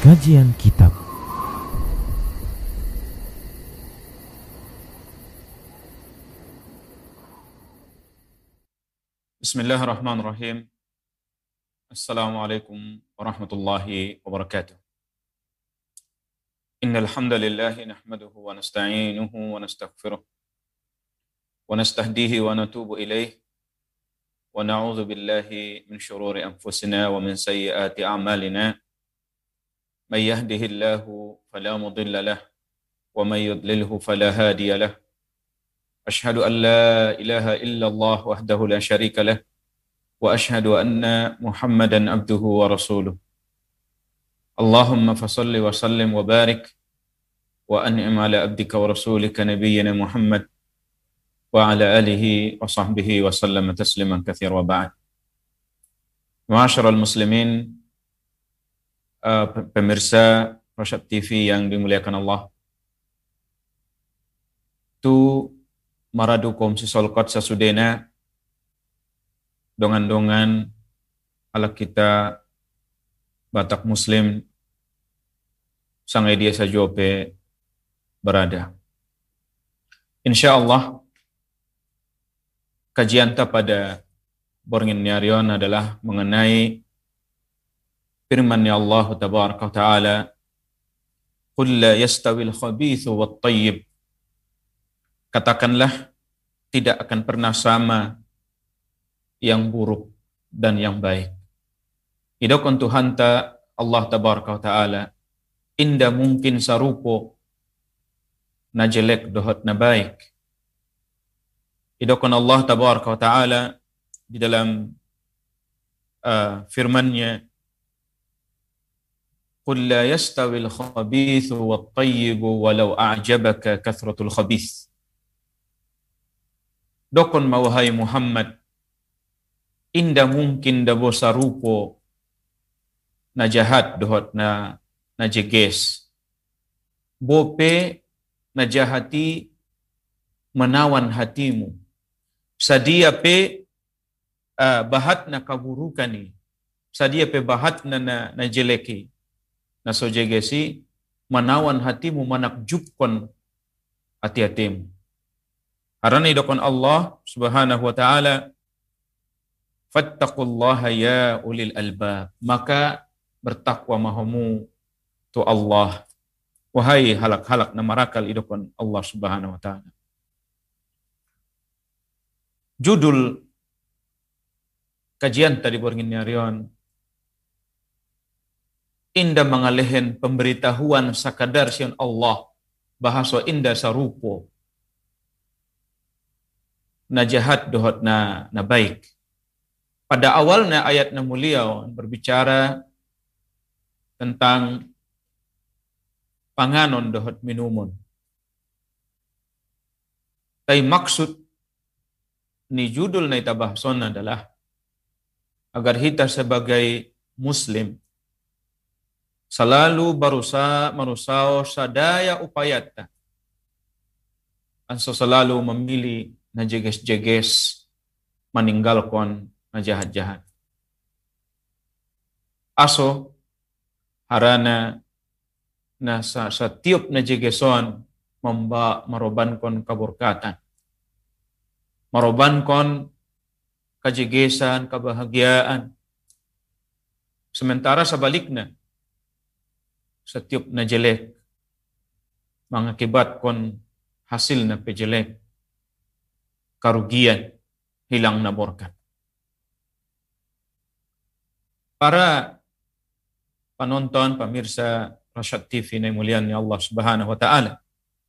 Kajian Kitab. Bismillahirrahmanirrahim. Assalamualaikum warahmatullahi wabarakatuh. Innal hamdalillah nahmaduhu wa nasta'inuhu wa nastaghfiruh wa nastahdihi wa natubu ilaih wa na'udzu billahi min shururi anfusina wa min sayyiati a'malina. May yahdihillahu fala mudilla lahu wa may yudlilhu fala hadiya lahu. Ashhadu an la ilaha illallah wahdahu la syarika lah wa ashhadu anna Muhammadan abduhu wa rasuluh. Allahumma fasalli wa sallim wa barik wa an'im ala abdika wa rasulika nabiyyina Muhammad wa ala alihi wa sahbihi wa sallam tasliman katsira wa ba'd. Ma'asyiral muslimin, pemirsa Rasyad TV yang dimuliakan Allah. Tu maradukum sisolkot sasudena dongan-dongan ala kita Batak Muslim sangai dia sajope berada. InsyaAllah kajian kita pada Borngin Nyarion adalah mengenai firman-Nya Allah Tabaraka wa Ta'ala, Qul la yastawil khabithu wat tayyib. Katakanlah, tidak akan pernah sama yang buruk dan yang baik. Idokon Tuhan ta Allah Tabaraka wa Ta'ala, inda mungkin sarupo na jelek dohot na baik. Idokon Allah Tabaraka wa Ta'ala di dalam firman-Nya, Qul la yastawil khabithu wat tayyibu walau a'jabaka kathratul khabith. Dokon mawahai Muhammad, inda mungkin dabo sarupo na jahat dohot na jeges. Bope na jahati menawan hatimu. Sadia pe bahat na kaburukan ni. Sadia pe bahat na jeleki. Na so jegesi menawan hatimu manakjubkon hati-hatimu. Harana idokon Allah Subhanahu wa Ta'ala, fattaqullaha ya ulil albab. Maka bertakwa mahamu tu Allah. Wahai halak-halak na marakal idokon Allah Subhanahu wa Ta'ala. Judul kajian tadi Borngin Nyarion, inda mengalehen pemberitahuan sakadar sian Allah, bahasa inda sarupo na jahat dohot na baik. Pada awalnya ayat na mulia berbicara tentang panganon dohot minumun. Tapi maksud ni judul na itabahson adalah agar kita sebagai Muslim selalu marusao sadaya upayata anso selalu memilih na jeges-jeges meninggalkan na jahat-jahat. Aso harana na sa tiup na jegeson marobankon kaburkatan. Marobankon kajegesan, kebahagiaan. Sementara sebaliknya, setiap na jelek mengakibatkan hasil na pejelek, karugian, hilang na berkat. Para penonton, pemirsa Rasyad TV na mulian Allah Subhanahu wa Ta'ala,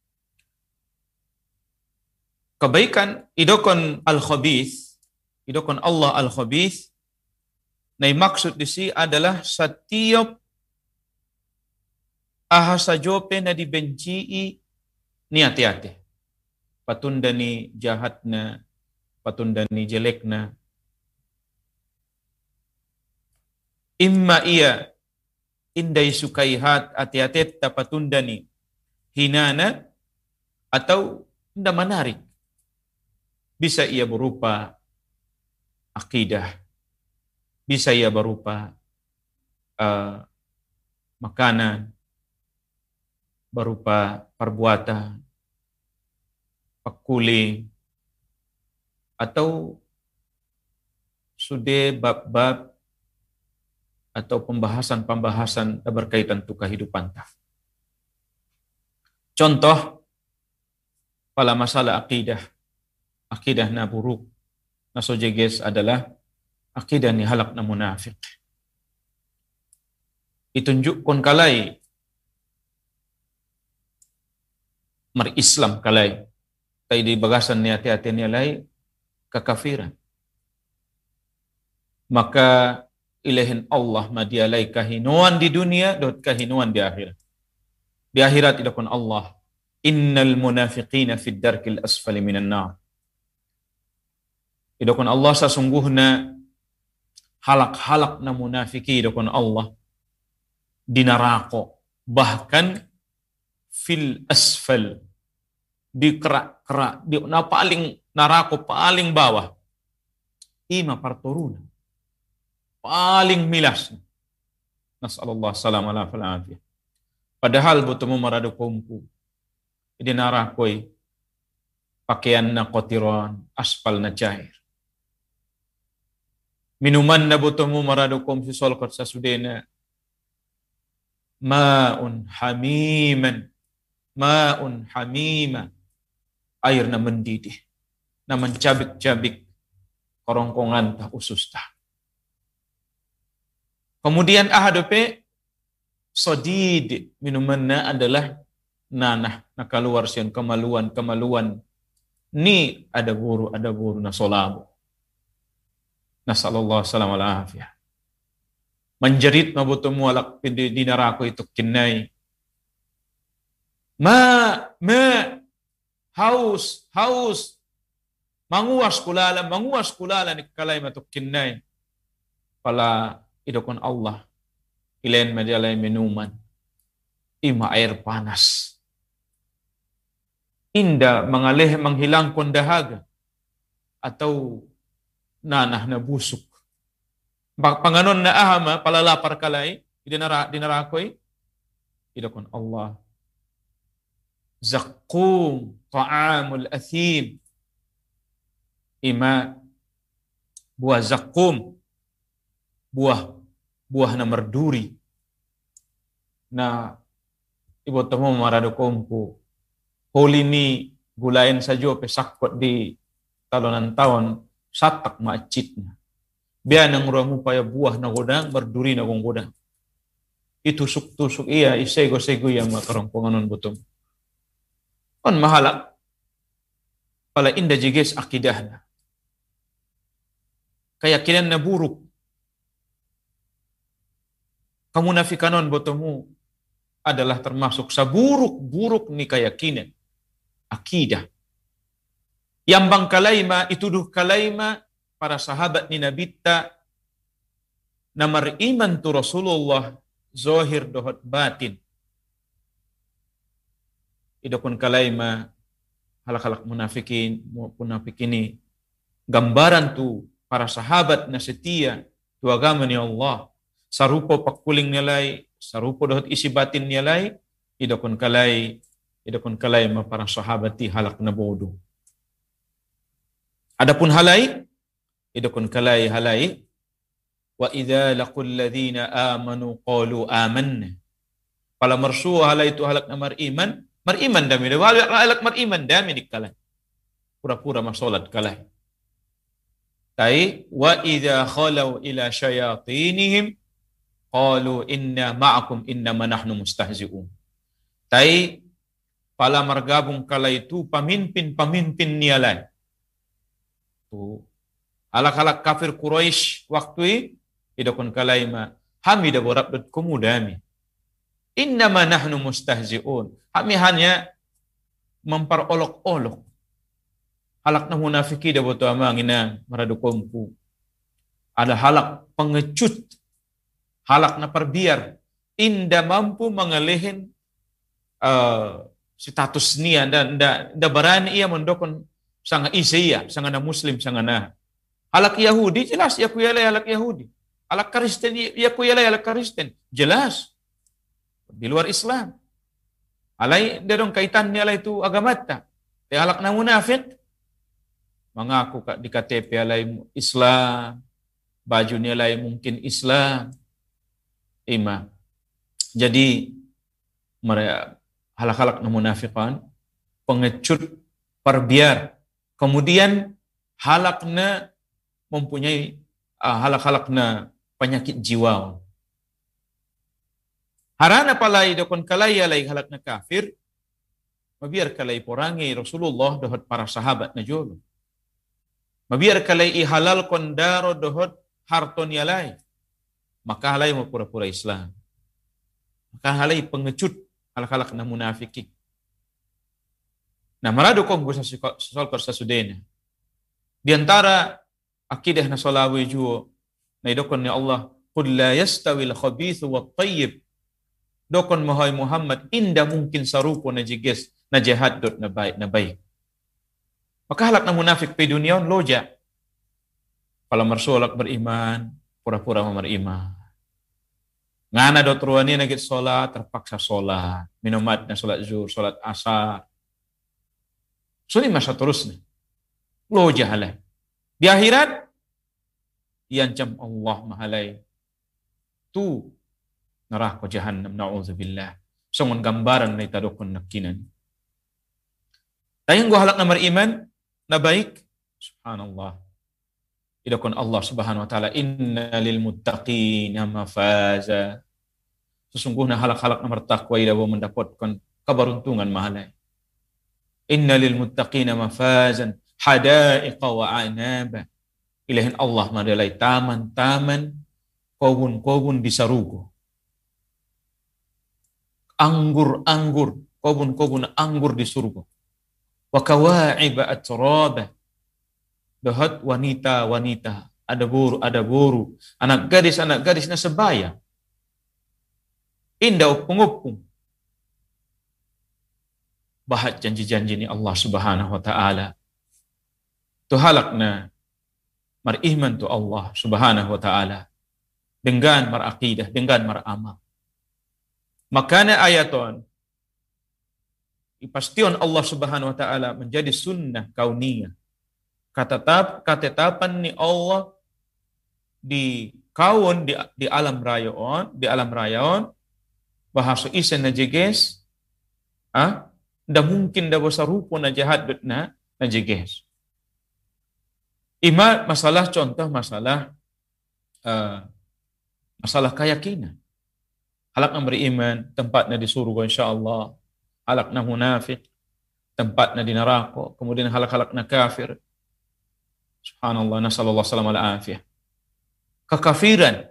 kebaikan idokon al-khabith, idokon Allah al-khabith, na maksud disi adalah setiap ahasa jope na dibenci ni hati-hati. Patunda ni jahat na, patunda ni jelek na. Imma iya indai sukaihat hati-hati ta patunda ni hinana atau tidak menarik. Bisa ia berupa akidah, bisa ia berupa makanan, berupa perbuatan, pekuling, atau sudah bab-bab atau pembahasan-pembahasan berkaitan tu kehidupan ta. Contoh pada masalah akidah na buruk, na sojeges adalah akidah ni halak na munafik. Itunjukkan kalai mar-Islam kalai, tay di bagasan ni hati-hati ni alai kekafiran. Maka ilahin Allah madialai kahinuan di dunia dot kahinuan di akhirat. Di akhirat idakun Allah, innal munafiqina fid darkil asfali minan nar. Idakun Allah sesungguhnya halak-halak na munafiki idakun Allah di neraka, bahkan fil asfal, di kerak-kerak, di na paling neraka paling bawah. Ima parturuna. Paling milas. Nasallallahu salam ala falafiyah. Padahal bertemu maradu kumpu. Di narakoi pakaian na kotiron, aspal na cair. Minuman na bertemu maradu kumpu solkot sa sudena. Ma'un hamiman. Ma'un hamima. Air na mendidih. Na mencabik-cabik korongkongan ta usus ta. Kemudian ahadope sodid minumannya adalah nanah na keluar sian kemaluan ni ada guru na solabu. Nasallallahu salam ala afiyah. Menjerit mabutumu alak di neraka itu kinai. Haus. Manguas kulala ni kalay matuk kinai. Pala idokon Allah. Ilain majalay minuman. Ima air panas. Inda menghilangkan dahaga. Atau nanah na busuk. Panganon na ahama, palalapar kalay, dinarakoy, idokon Allah. Zakkum, ta'amul athim. Ima, buah zakkum. Buah na merduri. Na ibu temu marado kompu. Holi ni gulayan sa Diyo pesakot di talonan taon satak maacitna. Biya nang ramu paya buah na godang berduri na kong godang. Itusuk-tusuk iya isego-sego yang makarongkonganon butom. On mahalak pala inda jiges akidahna. Keyakinan na buruk. Kemunafikanon botomu adalah termasuk saburuk-buruk ni keyakinan. Akidah. Yang bang kalaima, ituduh kalaima para sahabat ni Nabita na mariman tu Rasulullah zohir dohot batin. Idakun kalaima halak-halak munafikin ini gambaran tu para sahabat na setia tu agama ni Allah. Sarupo pakuling nilai, sarupo dohot isi batin nilai, idakun kalai ma para sahabati halak na bodoh. Adapun halai, idakun kalai halai, wa idza laqul ladzina amanu qalu amanna. Pala marsu halai itu halak na mariman dami, halak mariman dami dikalai. Pura-pura masolat kalai. Tai wa idza khalau ila syayatinihim qalu inna ma'akum innama nahnu mustahzi'un. Tai pala margabung kala itu pamimpin nialai. Tu alak-alak kafir Quraisy waktu idakun kalaima hamida borabdut kumudami. Innama nahnu mustahzi'un. Kami hanya memperolok-olok. Halak na munafiki da boto amangina maradukompu. Ada halak pengecut. Halak na perbiar, inda mampu mengalihin status niya, da barani ia mendokon sanga isiya, sanga na Muslim, sanga na. Halak Yahudi, jelas, ia kuyalay halak Yahudi. Halak Kristen, ia kuyalay halak Kristen, jelas. di luar Islam. Alai derong kaitannya alai itu agama ta. Te halak na munafik mengaku di KTP alai Islam, bajunya alai mungkin Islam. Ima. Jadi mereka halak-halak na munafikan pengecut perbiar. Kemudian halakna mempunyai halak-halakna penyakit jiwa. Harana palai dokon kalai alai halakna kafir, mabiar kalai porangi Rasulullah dohot para sahabat na jolo. Mabiar kalai ihalal kondaro dohot harton yalai. Maka halai mau pura-pura Islam. Maka halai pengecut halak-halak na munafiki. Nah, marado kong gusa sosol korsa sudena. Di antara akidah na solawi juo na idokon ni Allah, qul la yastawil khabithu wat tayyib. Dokon mahai Muhammad inda mungkin sarupo na jiges na jihad dot na baik. Maka halak na munafik pe dunia loja. Kalau marsolak beriman, pura-pura beriman. Ngana dot ruani nagit solat, terpaksa solat. Minumat na solat zuhur, solat asar. Suni masa terusnya. Loja halai. Di akhirat, iancam Allah mahalai. Tu neraka jahannam, na'udzubillah. Songon gambaran na itadokon nakinan. Tayang gua halak na beriman, na baik. Subhanallah. Idokon Allah subhanahu wa ta'ala, inna lil muttaqina mafaza. Sesungguhnya halak-halak na bertakwa idawa mendapatkan keberuntungan mahalai. Inna lil muttaqina mafazan hadaiqa wa anaba. Ilahin Allah madalai taman-taman, kebun-kebun di sarugo. Anggur-anggur, kebun-kebun anggur di surga. Wa kawa'iba atraba. Dahat wanita-wanita, ada buru, anak gadis na sebaya. Indah upung-upung. Bahat janji-janji ni Allah subhanahu wa ta'ala. Tu halakna mariman tu Allah subhanahu wa ta'ala. Dengan marakidah, dengan maramal. Makanya ayaton, ipastion Allah subhanahu wa ta'ala menjadi sunnah kauniyah. Ketetapan ni Allah di kaun di alam rayon, bahasa isen na jeges, da mungkin da bosa rupo na jahat na jeges. Ima masalah contoh masalah keyakinan. Halak na beriman tempatnya di surga insyaallah. Halak na munafik tempatnya di neraka. Kemudian halak-halak na kafir. Subhanallah, nasallallahu salam ala afiyah. Kekafiran,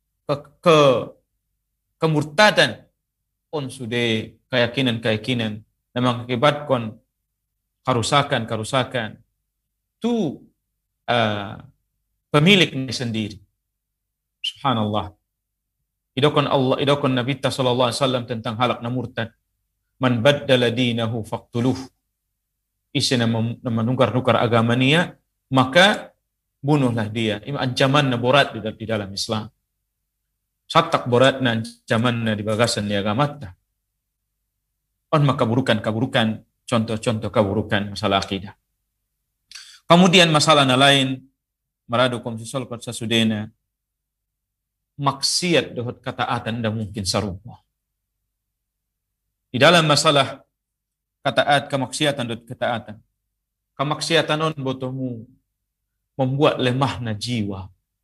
kemurtadan on sudah keyakinan na mengakibatkan kerusakan tu pemiliknya sendiri. Subhanallah. Idokon Nabi sallallahu alaihi wasallam tentang halak na murtad. Man baddala dinahu faqtuluh. Isi na menukar agama niya, maka bunuhlah dia. Ini ancaman na borat di dalam Islam. Satak borat na ancaman na di bagasan ni agama ta. On makaburukan, contoh-contoh kaburukan masalah akidah. Kemudian masalah na lain, marado kom sisol kot sa sudena, maksiat dohot kataatan da mungkin sarupa. Di dalam masalah kemaksiatan dohot kataatan, kemaksiatan on botomu membuat lemah na jiwa.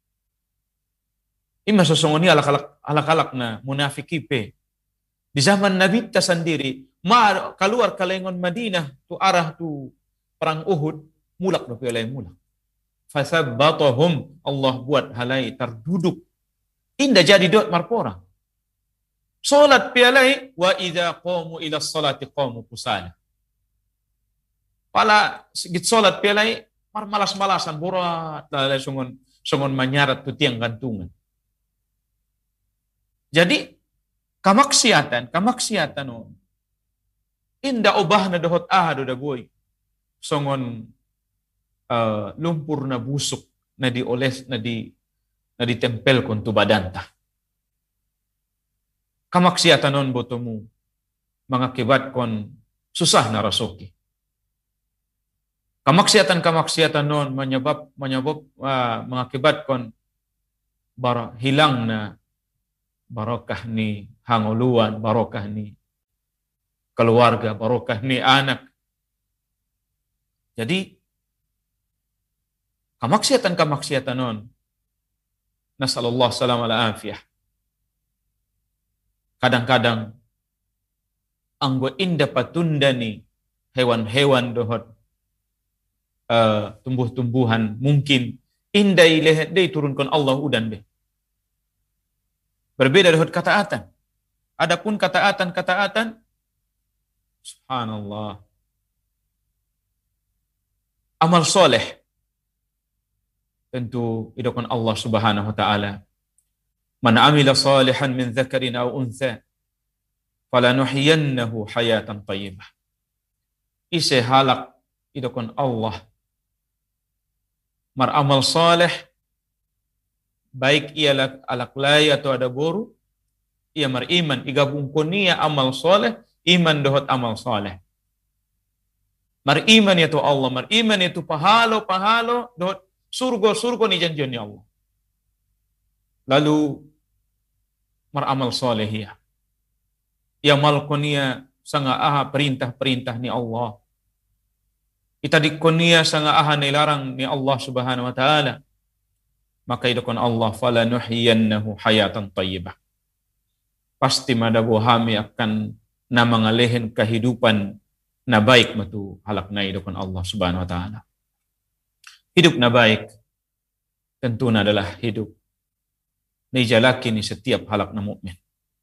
Ima sesungguhnya alak-alak na munafiki pe. Di zaman Nabi ta sendiri, keluar kalengon Madinah tu arah tu perang Uhud, mulak do pialai mulak. Fasabbatahum, Allah buat halai terduduk. Indah jadi dot marpora. Salat pialai wa idza qamu ila salati qamu kusala. Pala sigit salat pialai malas-malasan borat lalai sungon manyarat tu tiang gantungan. Jadi kamaksiatan inda ubahna dohot ahado da boy. Songon lumpur na busuk na dioles na ditempel kon tu badanta. kamaksiatan non botomu mengakibatkan susah na rasoki. Kamaksiatan non mengakibatkan hilang na barokah ni hanguluan, barokah ni keluarga, barokah ni anak. Jadi kamaksiatan non nasallallahu salam ala afiyah. Kadang-kadang anggo inda patundani hewan-hewan dohot tumbuh-tumbuhan mungkin inda ilahat day turunkan Allah udan be. Berbeda dohot kataatan. Adapun kataatan subhanallah. Amal soleh tentu idokon Allah Subhanahu wa taala. Man amila salihan min dzakarin aw untha falanuhyiyannahu hayatan thayyibah. Ise halak idokon Allah mar amal saleh baik ia alak lay atau ada boru ia mar iman igabungkon niya amal saleh iman dohot amal saleh. Mar iman itu Allah, mar iman itu pahalo dohot surga ni janjian ni Allah. Lalu meramal soleh ya. Ia malkonia sanga aha perintah ni Allah. Ita dikonia sanga aha nilarang ni Allah Subhanahu wa taala. Maka idakon Allah fala nuhyiyannahu hayatan thayyibah. Pasti madabu hami akan namangalehin kehidupan na baik matu halak na idakon Allah Subhanahu wa taala. Hidup na baik tentunya adalah hidup nijalaki ni setiap halak na mukmin.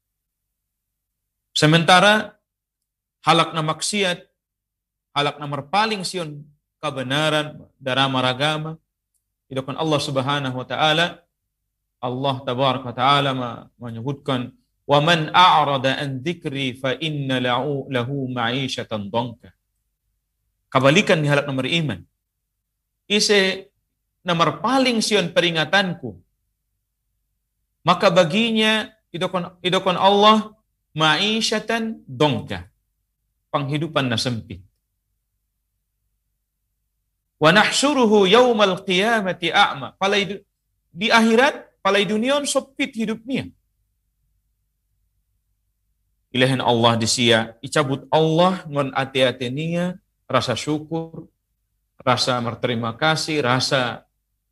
Sementara halak na maksiat, halak na marpaling sion kebenaran darama ragama, idokon Allah Subhanahu wa taala, Allah tabaraka wa taala menyebutkan wa man a'rada an dzikri fa inna lahu ma'isyatan dhanka. Kebalikan ni halak na beriman. Ise nomor paling sion peringatanku, maka baginya idokon Allah ma'isyatan dongka, penghidupan na sempit. Wa nahsyuruhu yaumal qiyamati a'ma. Di akhirat palai dunia sempit hidupnya. Ilahin Allah disia icabut Allah ngon ati-ati nia rasa syukur, rasa berterima kasih, rasa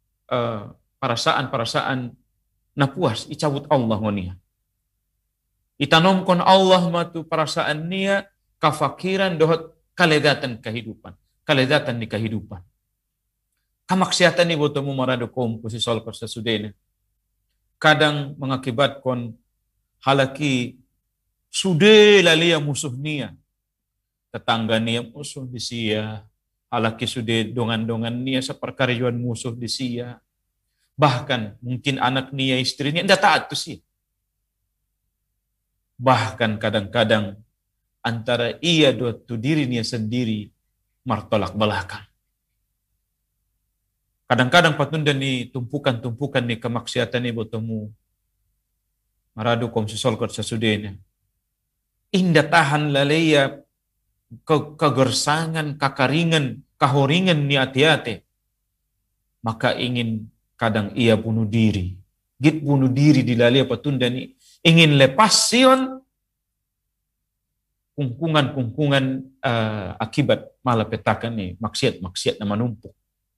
perasaan na puas icabut Allah ngonia. Itanomkon Allah matu perasaan nia kafakiran dohot kaledatan kehidupan, kaledatan di kehidupan. Kamaksiatan ni botomu marado kompo si solkor sesudena. Kadang mengakibatkan halaki sude lalia musuh nia, tetangga nia musuh di sia. Halaki sudah dongan-dongan nia seperkarjuan musuh di sia. Bahkan mungkin anak nia istrinya tidak taat tu sih. Bahkan kadang-kadang antara ia tu diri nia sendiri martolak belakang. Kadang-kadang patunda ni tumpukan ni kemaksiatan ni botomu. Maradu kom sesolkot sesudena. Indah tahan lalaya kegersangan, kakaringan, kahoringan ni ati-ati. Maka ingin kadang ia bunuh diri. Git bunuh diri di lalai patunda ni. Ingin lepas sion kungkungan akibat malapetakan ni. Maksiat na manumpuk.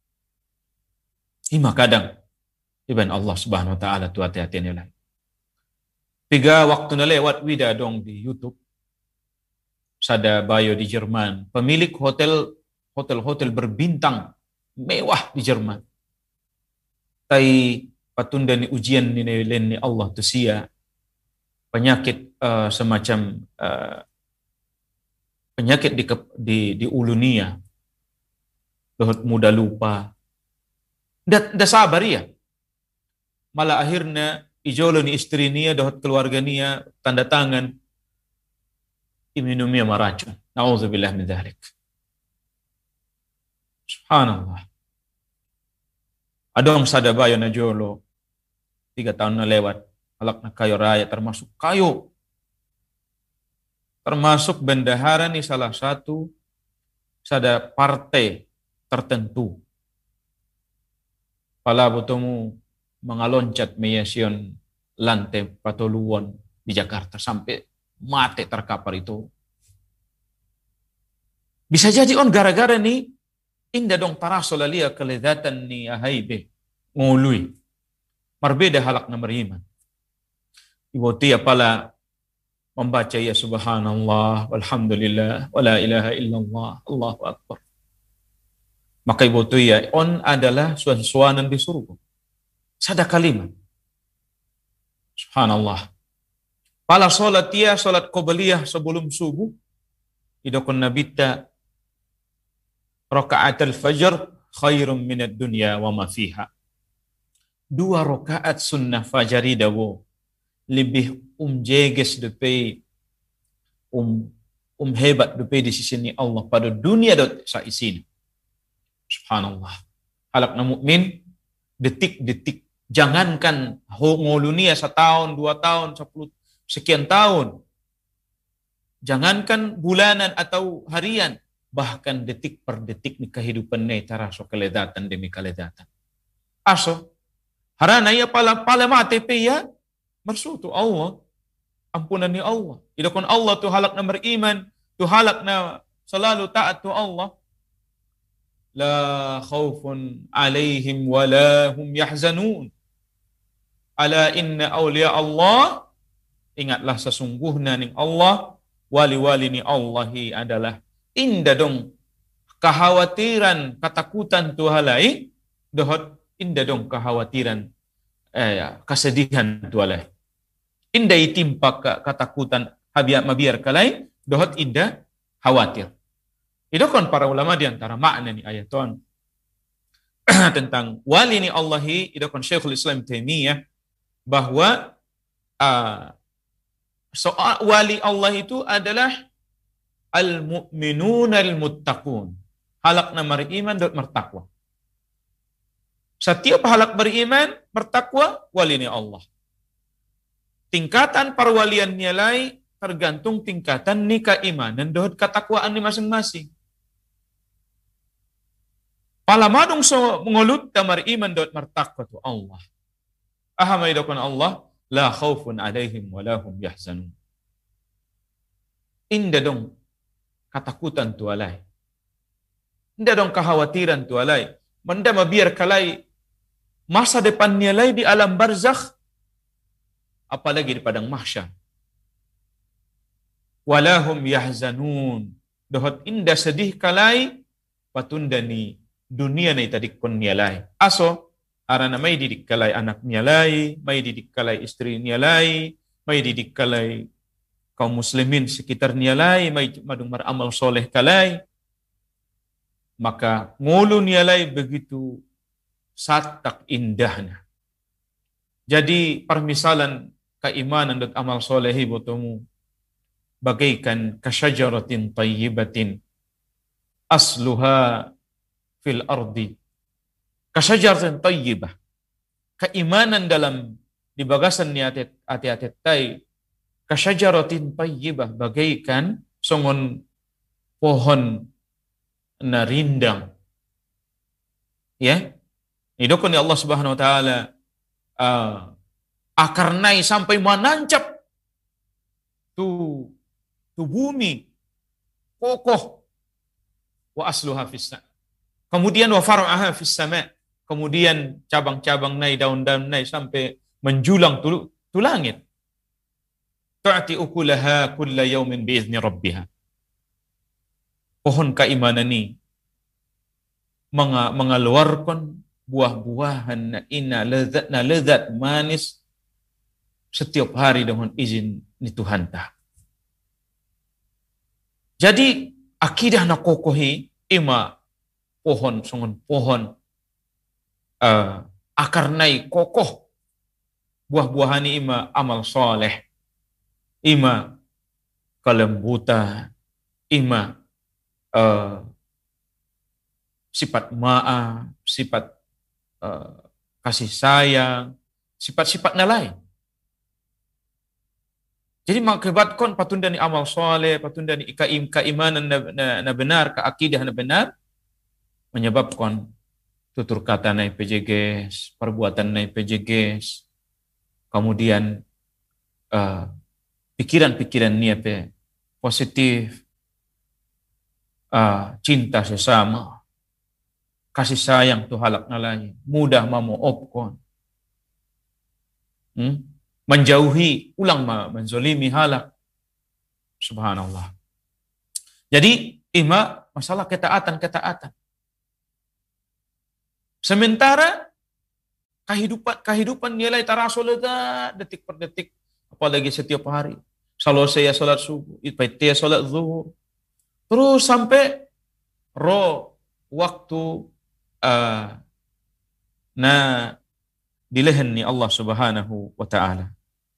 Ima kadang. Iban Allah Subhanahu wa ta'ala tu hati-hati nilai. 3 waktu na lewat wida dong di YouTube. Sada bayo di Jerman, pemilik hotel berbintang mewah di Jerman. Tai patunda ni ujian ni ni Allah tu sia penyakit semacam penyakit di ulunia. Dohot muda lupa. Da sabar ya. Malah akhirnya ijolo ni istri niya dohot keluarga niya tanda tangan iminumia maracun. Na'udzubillah min dzalik. Subhanallah. Adong sadabayo na jolo 3 tahun na lewat. Alak na kayo raya termasuk kayo termasuk bendahara ni salah satu sada partai tertentu. Pala botomu mengaloncat meyasion lantai patoluan di Jakarta sampai mati terkapar itu. Bisa jadi gara-gara ni inda dong tarasolalia keledatan ni ahaibe ngului. Marbeda halak na beriman. Ibu tia pala membaca ya subhanallah walhamdulillah wala ilaha illallah Allahu akbar. Maka ibu tia on adalah suan-suanan di surga. Sada kalimat. Subhanallah. Pala solat tia solat qobliyah sebelum subuh idokon nabita rakaat al-fajr khairum minad dunya wa ma fiha. 2 rakaat sunnah fajari dawo lebih jeges depe hebat depe di sisi ni Allah pada dunia dot sa isin. Subhanallah. Halak na mukmin detik-detik, jangankan ngolunia 1 tahun, 2 tahun, 10 sekian tahun. Jangankan bulanan atau harian, bahkan detik per detik ni kehidupan ni taraso keledatan demi keledatan. Aso harana ya pala mati pe ya mersutu Allah, ampunan ni Allah. Idakon Allah tu halak na beriman, tu halak na selalu taat tu Allah. La khaufun alaihim wa la hum yahzanun. Ala inna awliya Allah, ingatlah sesungguhnya ni Allah, wali-wali ni Allahi adalah inda dong kekhawatiran, ketakutan tu halai, dohot inda dong kekhawatiran, kesedihan tu halai. Inda itimpa ketakutan mabiar kalai, dohot inda khawatir. Itu kan para ulama di antara makna ni ayaton tentang wali ni Allahi, itu kan Syekhul Islam Taimiyah bahwa soal wali Allah itu adalah al-mu'minun al-muttaqun. Halak na beriman dan bertakwa. Setiap halak beriman, bertakwa, wali ni Allah. Tingkatan perwalian nilai tergantung tingkatan ni keimanan dan ketakwaan ni masing-masing. Palamadong so mengulut tamar iman dan bertakwa tu Allah. Ahamai dokon Allah, la khaufun alaihim wa lahum yahzanun. Inda dong ketakutan tu alai. Inda dong kekhawatiran tu alai. Manda mabiar kalai masa depannya lai di alam barzakh, apalagi di padang mahsyar. Walahum yahzanun. Dohot inda sedih kalai patundani dunia ni tadi kon nialai. Aso arana may didik kalai anak nialai, may didik kalai istri nialai, may didik kalai kaum muslimin sekitar nialai, may madung maramal soleh kalai. Maka ngulu nialai begitu satak indahnya. Jadi permisalan keimanan dan amal solehi botomu bagaikan kasyajaratin tayyibatin asluha fil ardi. Kasyajaratin tayyibah. Keimanan dalam di bagasan ni ati-ati tay kasyajaratin tayyibah bagaikan songon pohon na rindang. Ya. Idokon ni Allah Subhanahu wa taala akarnai sampai menancap tu bumi kokoh wa asluha fis sama. Kemudian wa far'aha fis sama. Kemudian cabang-cabang nai daun-daun nai sampai menjulang tu langit. Tu'ti ukulaha kulla yaumin biizni rabbiha. Pohon keimanan ini mengeluarkan buah-buahan na lezat manis setiap hari dengan izin ni Tuhan ta. Jadi akidah na kokohi ima pohon songon pohon akar nai kokoh buah-buahan ima amal soleh, ima kelembutan, ima sifat maaf, sifat kasih sayang, sifat-sifat lain. Jadi mengakibatkan patunda ni amal soleh, patunda ni keimanan na benar, keakidah na benar, menyebabkan tutur kata na PJGs, perbuatan na PJGs, kemudian pikiran-pikiran ni apa positif, cinta sesama, kasih sayang tu halak na lain, mudah memaafkan, menjauhi, ulang menzolimi halak, subhanallah. Jadi masalah ketaatan. Sementara kehidupan nilai tarasul detik per detik, apalagi setiap hari. Kalau saya salat subuh, ipatia salat zuhur, terus sampai waktu na dilehen ni Allah Subhanahu wa taala.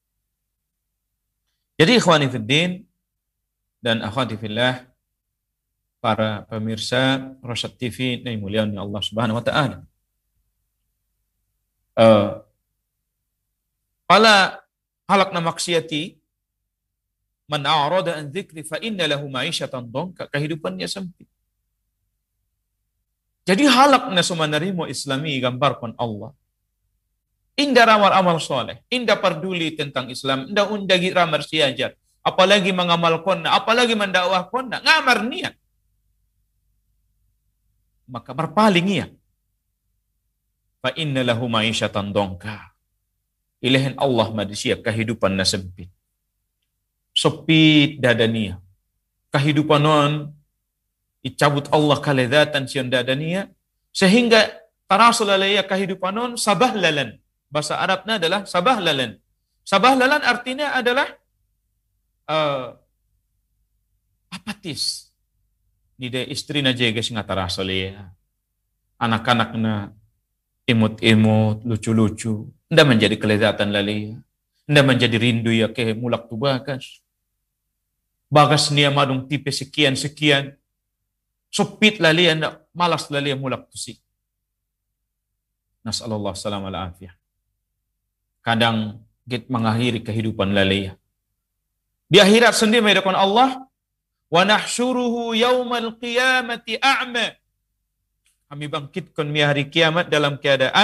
Jadi ikhwani fiddin dan akhwati fillah, para pemirsa Rosyad TV yang mulia Allah Subhanahu wa taala. Pala halakna maksiati man a'rada an dzikri fa inna lahu ma'isyatan dhanka, kehidupannya sempit. Jadi halakna sumanarimo islami gambarkan Allah. Indah ramal amal soleh, indah peduli tentang Islam, indah undagi ramar siajar, apalagi mengamalkan, apalagi mendakwahkan, ngamar niat. Maka berpaling ia. Fa inna lahu ma'isyatan dhanka. Ilahin Allah manusia kehidupan na sempit. Sempit dadania. Kehidupan non icabut Allah kaledzatan sian dadania sehingga tarasul alaiya kehidupan non sabahlalan. Bahasa Arabnya adalah sabahlalan. Sabahlalan artinya adalah apatis. Nida istri na jega singa tarasul ya. Anak-anak na imut-imut, lucu-lucu. Nda menjadi kelezatan lalia. Nda menjadi rindu ya ke mulak tu bagas. Bagas niya madung tipe sekian-sekian. Sopit lalia, nda malas lalia mulak tu si. Nasallallahu salam ala afiyah. Kadang git mengakhiri kehidupan lalia. Di akhirat sendiri menghadapkan Allah. Wa nahsyuruhu yaumal qiyamati a'ma. Kami bangkitkan di hari kiamat dalam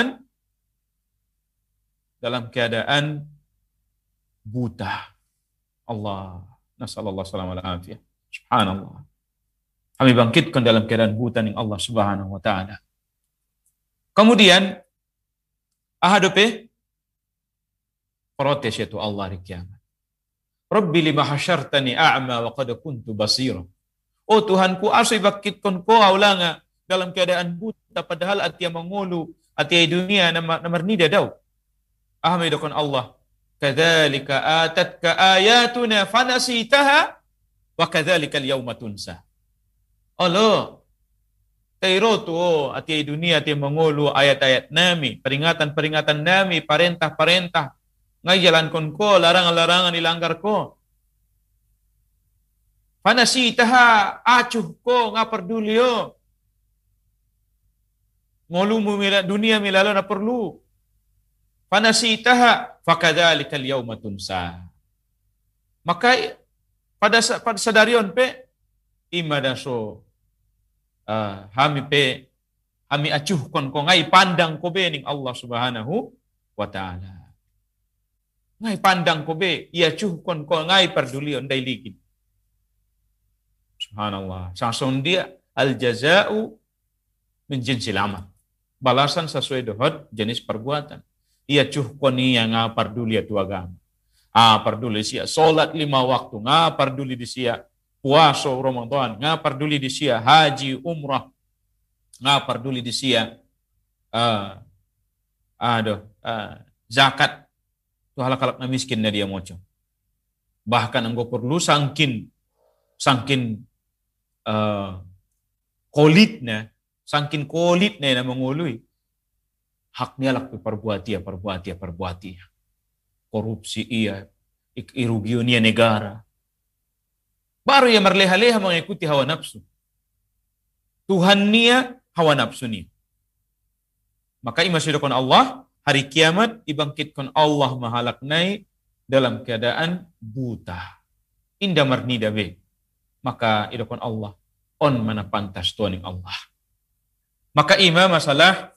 keadaan buta. Allah, nasallallahu salam ala afiyah. Subhanallah. Kami bangkitkan dalam keadaan buta ning Allah Subhanahu wa taala. Kemudian hadapi protes itu Allah di kiamat. Rabbi lima hasyartani a'ma wa qad kuntu basira. Oh Tuhanku, asy bangkitkan ko aulanga dalam keadaan buta padahal atia mengulu, atia dunia namar nida daw. Ahmidakun Allah. Kadzalika atatka ayatuna fanasitaha wa kadzalika al-yauma tunsa. Allah. Tairo tu atia dunia atia mengulu ayat-ayat nami, peringatan-peringatan nami, perintah-perintah. Ngajalankan ko, larangan-larangan dilanggar ko. Fanasitaha acuh ko ngaperduli yo. Ngolumu dunia milalo na perlu. Fanasitaha fakadzalika al-yauma tunsa. Maka pada sadarion pe imadaso kami acuhkan ko ngai pandang ko be ning Allah Subhanahu wa taala. Ngai pandang ko be ia acuhkan ko ngai perdulion dai ligin. Subhanallah. Sangsung dia al-jaza'u min jinsil amal. Balasan sesuai dengan jenis perbuatan. Ia cuhkoni yang ngaparduli tu agama. Parduli sia salat 5 waktu, ngaparduli di sia puasa Ramadan, ngaparduli di sia haji umrah, ngaparduli di sia zakat. Tu halak-halak na miskin na dia moco. Bahkan anggo perlu sangkin kolitnya, sangkin kolitnya na mengului. Haknya lah perbuatia. Korupsi ia, irugiunia negara. Baru ia merleha-leha mengikuti hawa nafsu. Tuhan nia hawa nafsu nia. Maka imasyidakon Allah, hari kiamat ibangkitkan Allah mahalaknai dalam keadaan buta. Indah marnida be. Maka idokon Allah on mana pantas tuaning Allah. Maka ima masalah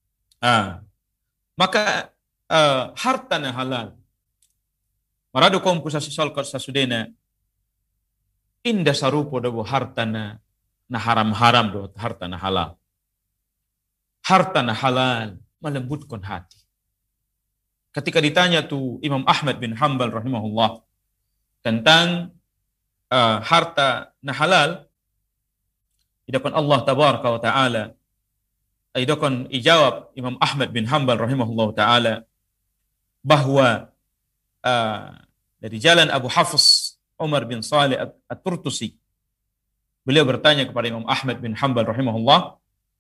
maka harta na halal. Marado kom pusa sisolkot sa sudena indah sarupo dabo harta na haram-haram do harta na halal. Harta na halal melembutkan hati. Ketika ditanya tu Imam Ahmad bin Hanbal rahimahullah tentang harta na halal, idakon Allah tabaraka wa ta'ala, idakon ijawab Imam Ahmad bin Hanbal rahimahullah ta'ala bahwa dari jalan Abu Hafs Umar bin Salih At-Turtusi, beliau bertanya kepada Imam Ahmad bin Hanbal rahimahullah,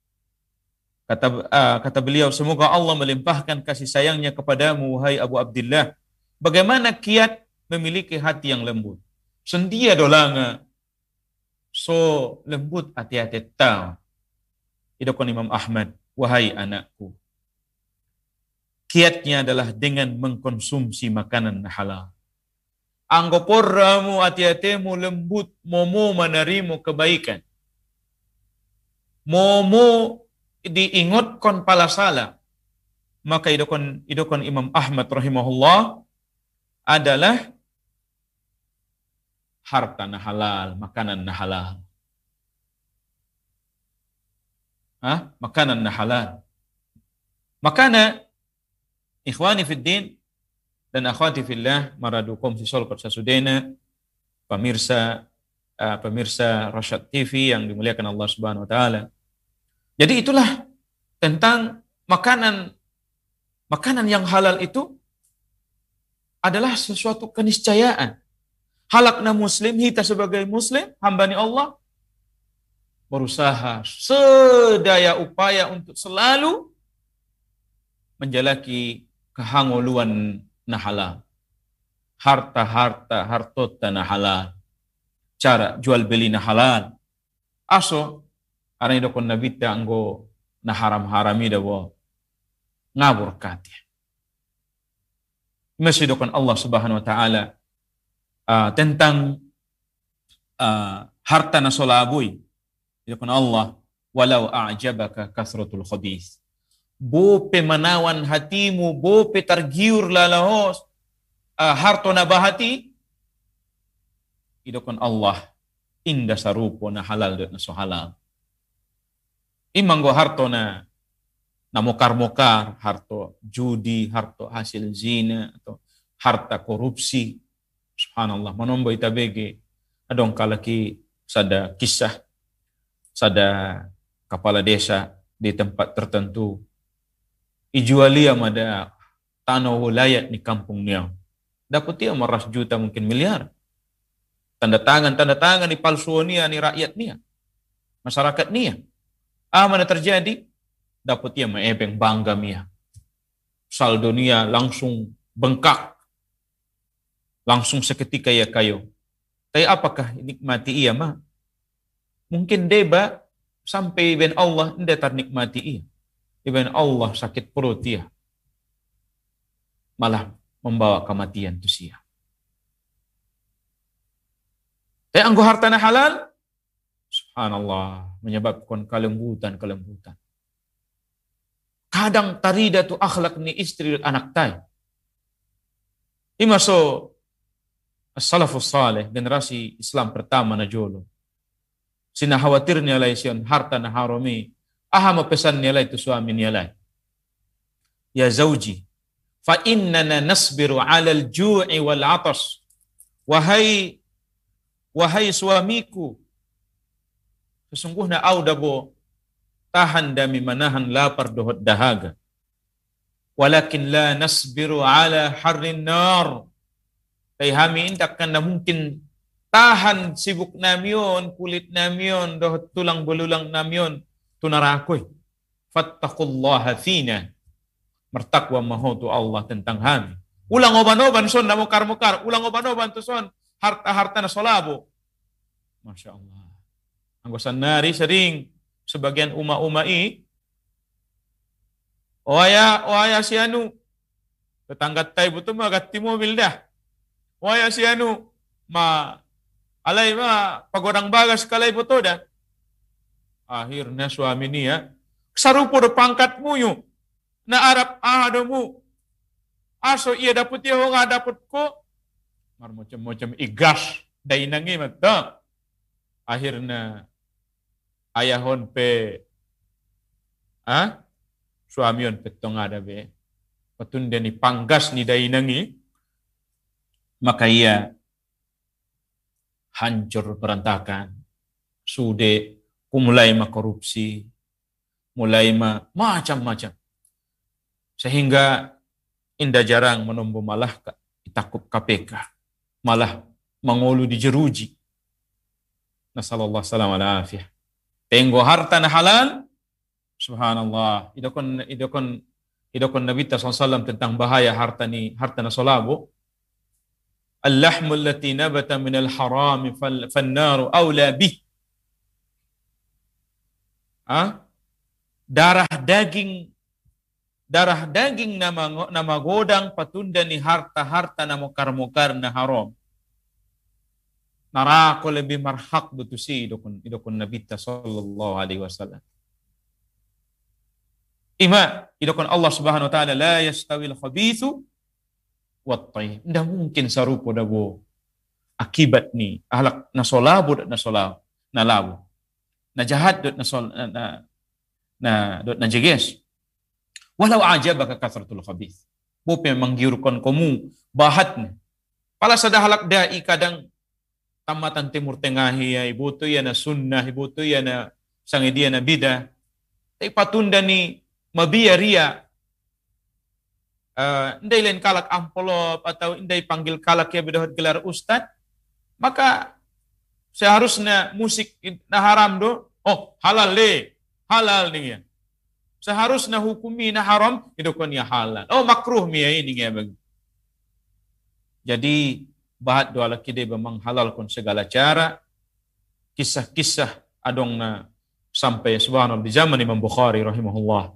kata beliau, semoga Allah melimpahkan kasih sayangnya kepadamu wahai Abu Abdillah, bagaimana kiat memiliki hati yang lembut. Sendia dolanga so lembut hati-hati tau. Idokon Imam Ahmad, wahai anakku, kiatnya adalah dengan mengkonsumsi makanan halal. Anggo porramu hati-hatimu lembut, momo menerimu kebaikan. Momo diingatkan pala salah. Maka idokon Imam Ahmad rahimahullah adalah harta na halal, makanan na halal. Makanan na halal. Makana ikhwani fid din dan akhwati fillah maradukum sisolkot sasudena, pemirsa Rasyad TV yang dimuliakan Allah Subhanahu wa taala. Jadi itulah tentang makanan yang halal itu adalah sesuatu keniscayaan. Halakna muslim, kita sebagai muslim, hambani Allah, berusaha sedaya upaya untuk selalu menjalaki kehangoluan na halal. Hartota na halal. Cara jual beli na halal. Aso, arang idokon nabita anggo na haram-harami dawo ngabur kati. Masih idokon Allah Subhanahu wa taala tentang harta na solaboy. Idokon Allah, walau a'jabaka kasratul khabith. Bope manawan hatimu, bope targiur lalahos harto na bahati. Idokon Allah, indah sarupo na halal na so halal. Imanggo harto na mokar-mokar, harto judi, harto hasil zina, atau harta korupsi. Subhanallah, manombo itabege, adong kalaki sada kisah, sada kepala desa di tempat tertentu, ijualia mada tanah wilayah di kampung niya. Dapat dia meras juta mungkin miliar. Tanda tangan di palsuan niya, ni rakyat niya, masyarakat niya. Mana terjadi? Dapat dia maebeng bangga niya. Saldo niya langsung bengkak. Langsung seketika ya kayo. Tapi apakah nikmati ia mah? Mungkin deba sampai ben Allah tidak ternikmati ia. Ben Allah sakit perut ia. Malah membawa kematian tu sia. Tapi anggo harta na halal, subhanallah, menyebabkan kelembutan. Kadang tarida tu akhlak ni istri dan anak tay. Imaso as-salafus salih, generasi Islam pertama na jolo. Sinahawatir niya lay siyon harta na harami. Mapesan niya lay tu suami niya lay. Ya zawji, fa innana nasbiru 'alal ju'i wal 'atas. Wahai suamiku, sesungguhnya au dabo tahan dami manahan lapar dohot dahaga. Walakin la nasbiru 'ala harrin nar. Kay hami indak kan na mungkin tahan sibuk namyon, kulit namyon, dohot tulang belulang namyon, tunarakoy. Fattaqullaha fina. Mertakwa maho tu Allah tentang hami. Ulang oban-oban son na mukar-mukar, ulang oban-oban tu son harta-harta na solabo. Masya Allah. Anggosan nari sering sebagian uma-umai oaya si anu tetangga tay buto magati mobil dah. Waya si anu ma alay ma pagodang bagas kalay botoda. Akhirnya suami niya sarupo do pangkatmu yu na arap ahadamu. Aso iya dapat iya nga dapat ko. Macam-macam igas day nangi mata. Akhirnya ayahon pe suami on petong ada be. Patunda ni panggas ni day nangi. Maka ia hancur berantakan. Sude mulai korupsi, mulai macam-macam. Sehingga indah jarang menombo malah takut KPK. Malah mengulu dijeruji. Nasallallahu salam ala afiyah. Tenggo harta na halal, subhanallah. Idokon Nabi SAW tentang bahaya harta na solabo. Al-lahmu allati nabata minal harami fannaru awla bih. Darah daging nama godang patunda ni harta na mukar na haram. Narako lebih marhak dutusi idokon Nabi sallallahu alaihi wasallam. Idokon Allah Subhanahu wa taala la yastawil khabithu wat tayyib. Ndak mungkin sarupo dabo akibat ni ahlak na solabo na labo. Na jahat na jeges. Walau ajabaka kasratul khabith. Bope manggiurkon komu bahatnya. Pala sadahalak dai kadang tamatan timur tengah ya ibuto ya na sunnah ibuto ya na sangidia na bidah. Tapi patunda ni mabiya ria. Indai lain kalak amplop atau indai panggil kalak ya bedahot gelar ustad, maka seharusnya musik na haram do, halal nih ya. Seharusnya hukumi na haram, itu kan ya halal. Makruh mi ya ini ya bagi. Jadi bahat doa laki dia memang halal kon segala cara. Kisah-kisah adong na sampai subhanallah di zaman Imam Bukhari rahimahullah.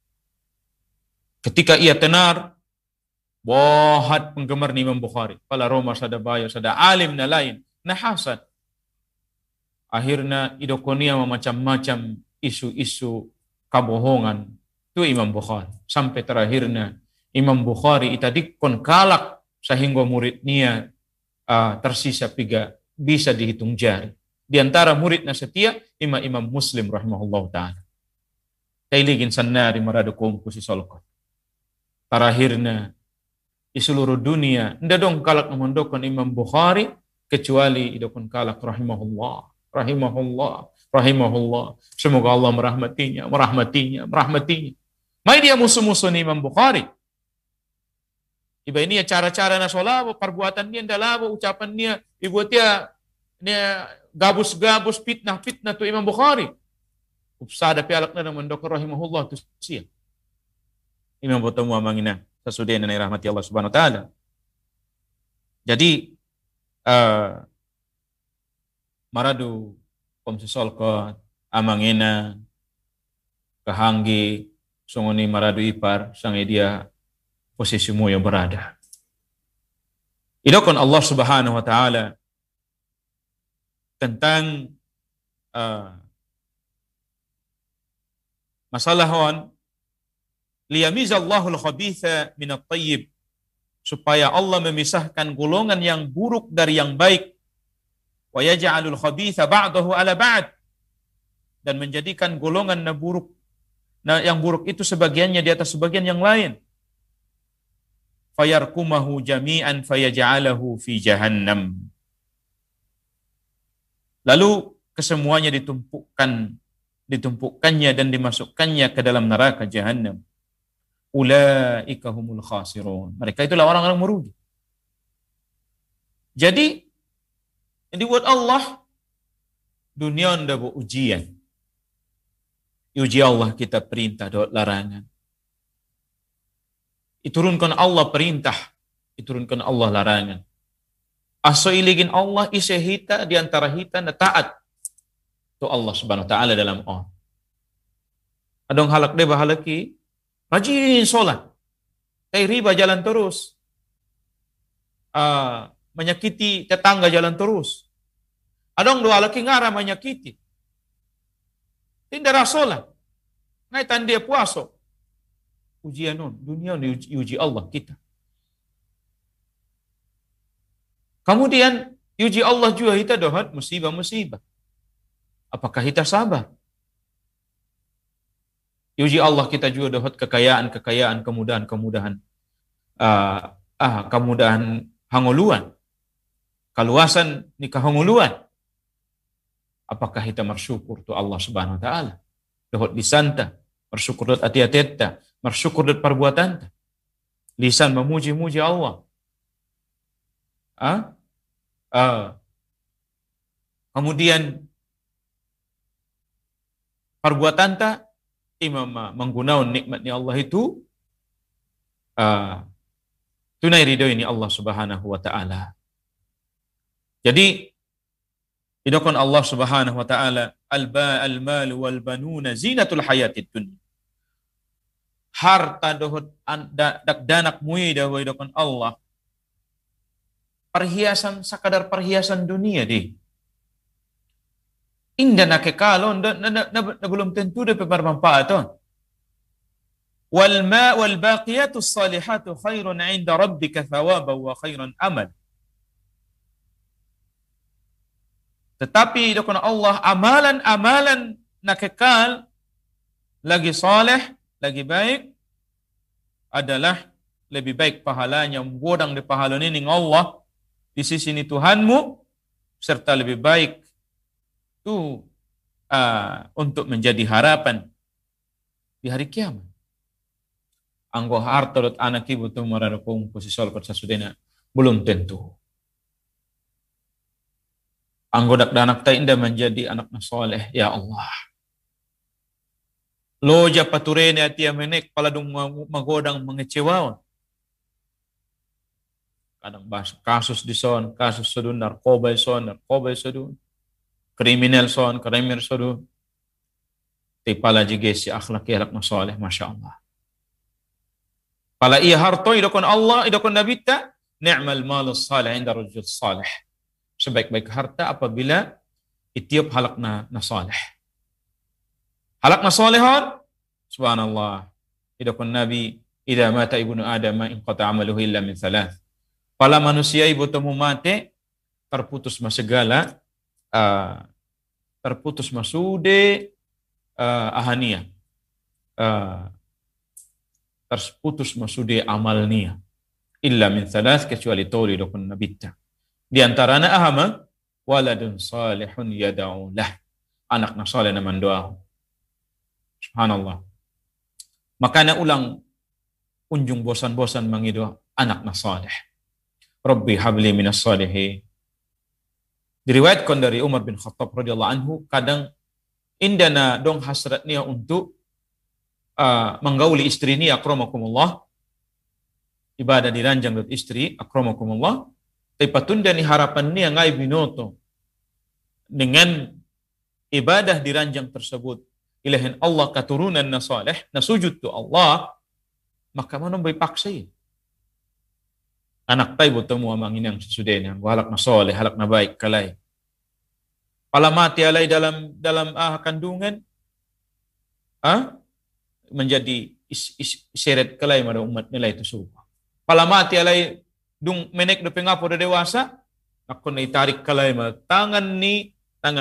Ketika ia tenar, bohat penggemar Imam Bukhari. Pala Roma sada bayo, sada alim na lain, na hasad. Akhirnya idokonia macam-macam isu-isu kabohongan. Itu Imam Bukhari. Sampai terakhirnya Imam Bukhari itadikon kalak sehingga muridnya tersisa 3 bisa dihitung jari. Di antara muridnya setia Imam Muslim rahimahullah ta'ala. Tailigin sanari maradukum kusi solkot. Terakhirnya di seluruh dunia ndak dong kalak memondokkan Imam Bukhari kecuali idokon kalak rahimahullah. Semoga Allah merahmatinya. Mai dia musuh-musuh Imam Bukhari. Iba ini cara-cara na solabo, perbuatan dia ndalabo, ucapan dia, ibu dia gabus-gabus fitnah tu Imam Bukhari. Upsada pialak na memondokkan rahimahullah tu sia. Imam bertemu amangina sesudah na rahmati Allah Subhanahu wa taala. Jadi maradu komsisol ko amangina kahanggi sunguni maradu ipar sange dia posisimu yang berada. Idokon Allah Subhanahu wa taala tentang masalah liyamizallahu al-khabitha min at-tayyib, supaya Allah memisahkan golongan yang buruk dari yang baik, wa yaj'alul khabitha ba'dahu ala ba'd, dan menjadikan golongan yang buruk itu sebagiannya di atas sebagian yang lain, fayarkumahu jami'an fayaj'alahu fi jahannam, lalu kesemuanya ditumpukannya dan dimasukkannya ke dalam neraka jahannam. Ulaika humul khasirun. Mereka itulah orang-orang merugi. Jadi yang dibuat Allah dunia ndak bu ujian. Uji Allah kita perintah dan larangan. Iturunkan Allah perintah, iturunkan Allah larangan. Aso iligin Allah isehita di antara hita na taat to Allah Subhanahu wa taala dalam adong halak de bahalaki rajin sholat, riba jalan terus, menyakiti tetangga jalan terus. Adong dua laki ngara menyakiti. Tidak rasolah. Ngaitan dia puasa. Ujian non, dunia diuji Allah kita. Kemudian uji Allah juga kita dohat musibah-musibah. Apakah kita sabar? Uji Allah kita juga dohat kekayaan, kemudahan, kemudahan hanguluan. Kaluasan ni kahanguluan. Apakah kita bersyukur tu Allah Subhanahu wa taala? Dohat disanta, bersyukur dohat ati-atetta, bersyukur dohat perbuatan. Lisan memuji-muji Allah. Kemudian perbuatan ta imam menggunakan nikmatnya Allah itu tunai ridho ini Allah Subhanahu wa taala. Jadi idakon Allah Subhanahu wa taala al-mal wal banuna zinatul hayatid dunya. Harta dohot dak danak mui dawai idakon Allah. Perhiasan sakadar perhiasan dunia di. Indah nak kekalon belum tentu dapat bermanfaat. Wal baqiyatus salihatu khairun 'inda rabbika thawaban wa khairan amal. Tetapi dokon Allah amalan nak kekal lagi saleh, lagi baik adalah lebih baik pahalanya menggodang di pahala ini Allah di sisi ini Tuhanmu, serta lebih baik itu untuk menjadi harapan di hari kiamat. Anggo harta dot anak ibu tu mararakum posisol persasudena belum tentu. Anggo dak danak ta indah menjadi anak soleh ya Allah. Loja paturene atia menek paladung magodang mengecewawan. Kadang bahas kasus di son, kasus sodun narkoba sodun, kriminal son, sodun. Tipala jige si akhlak masoleh, masya Allah. Pala iya harto idokon Allah, idokon nabita, ni'mal malus salih inda rajul salih. Sebaik-baik harta apabila itiup halakna nasalih. Halakna salihon, subhanallah. Idokon Nabi, idza mata ibnu Adam inqata amaluhu illa min thalath. Pala manusia ibu temu mate, terputus masegala, terputus masude ahania, terputus masude amalnia, illa min thalath kecuali toli dokon nabita. Di antaranya ahama, waladun salihun yada'u lah, anak na saleh na mandoa. Subhanallah. Makanya ulang unjung bosan-bosan mangido anak na saleh. Rabbi habli minas salihin. Diriwayatkan dari Umar bin Khattab radhiyallahu anhu, kadang indana dong hasratnya untuk menggauli istri ni akramakumullah, ibadah di ranjang dot istri akramakumullah, tapi patunda ni harapan ni ngai binoto dengan ibadah di ranjang tersebut ilahin Allah katurunan na saleh na sujud tu Allah, maka mana boleh paksa ya. Anak tay bertemu amang inang sesudahnya, halak na soleh, halak na baik kalai. Pala mati alai dalam kandungan, menjadi seret kalai pada umat nilai itu suruh. Pala mati alai dung menek do pengapo do dewasa, aku na itarik kalai ma tangan ni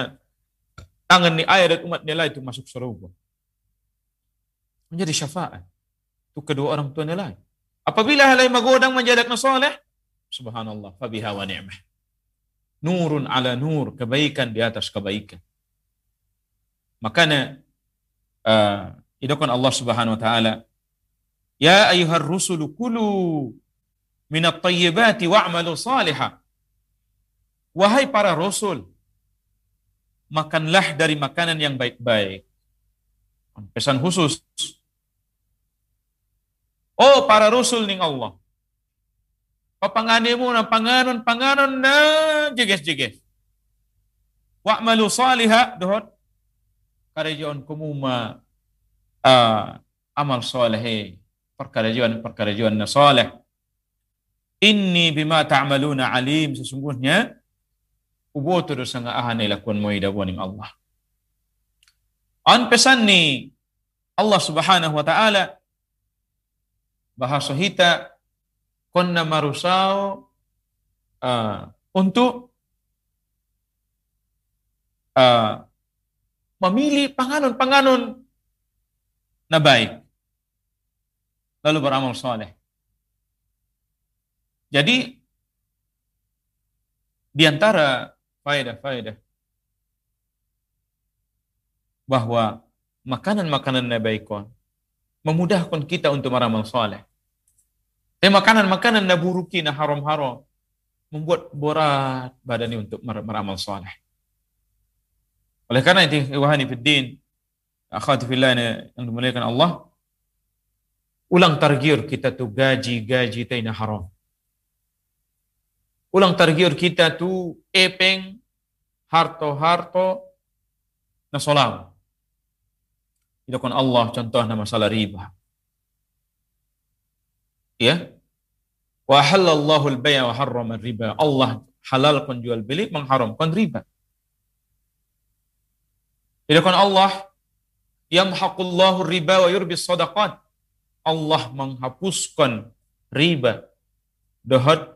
ayat umat nilai itu masuk surga. Menjadi syafaat untuk kedua orang tua nilai. Apabila halai magodang menjadak na soleh, subhanallah, fabiha wa ni'mah. Nurun ala nur, kebaikan di atas kebaikan. Makanya idokon Allah Subhanahu wa taala, ya ayyuhar rusulu kulu minat tayyibati wa'malu salihah. Wahai para rasul, makanlah dari makanan yang baik-baik. Pesan khusus. Oh para rasul ning Allah. Papangani mo na panganon na jiges. Wa'malu salihah dohot karajon kumuma amal saleh perkarajuan na saleh. Inni bima ta'maluna alim, sesungguhnya uboto do sanga ahane lakuan mo idawaning Allah. An pesan ni Allah Subhanahu wa taala bahasa hita konna marusao untuk memilih panganon-panganon na baik lalu beramal soleh. Jadi di antara faedah-faedah bahwa makanan-makanan na baikon memudahkan kita untuk beramal soleh. Tapi makanan-makanan na buruki na haram-haram membuat berat badannya untuk beramal soleh. Oleh karena itu, wahani fiddin, akhwati fillah yang dimuliakan Allah, ulang targir kita tu gaji taina haram. Ulang targir kita tu epeng harto na solam. Itu kan Allah contohnya masalah riba. Ya. Wa halallahu al-bay' wa harrama riba. Allah halalkan jual beli, mengharamkan riba. Itu kan Allah yamhaqullahu riba wa yurbis sadaqat. Allah menghapuskan riba. Dohot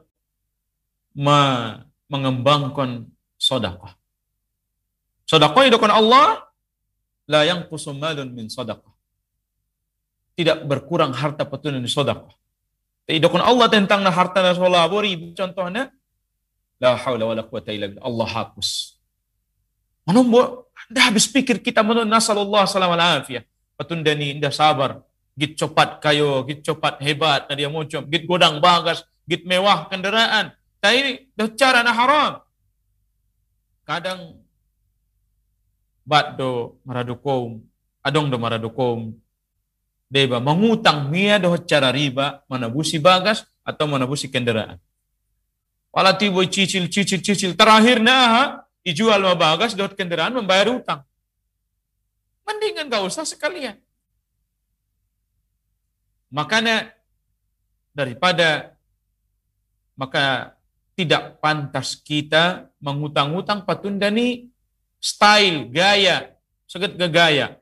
mengembangkan sedekah. Sedekah itu kan Allah la yanqusu malun min sedekah. Tidak berkurang harta petun dari sedekah. Itu kan Allah tentang harta na solabo riba contohnya la haula wala quwata illa billah. Allah hapus. Manombo dah habis pikir kita menun nasallallahu salam al afiyah. Petun dani indah sabar. Git cepat kayo, git cepat hebat na dia muncul, git godang bagas, git mewah kendaraan. Tapi dah cara na haram. Kadang bat do maradukom, adong do maradukom. Deba mengutang mia do cara riba, manabusi bagas atau manabusi kendaraan. Wala tiboy cicil. Terakhir na ijual bagas do kendaraan membayar utang. Mendingan gak usah sekalian. Makanya maka tidak pantas kita mengutang-utang patundani style, gaya, seget gaya.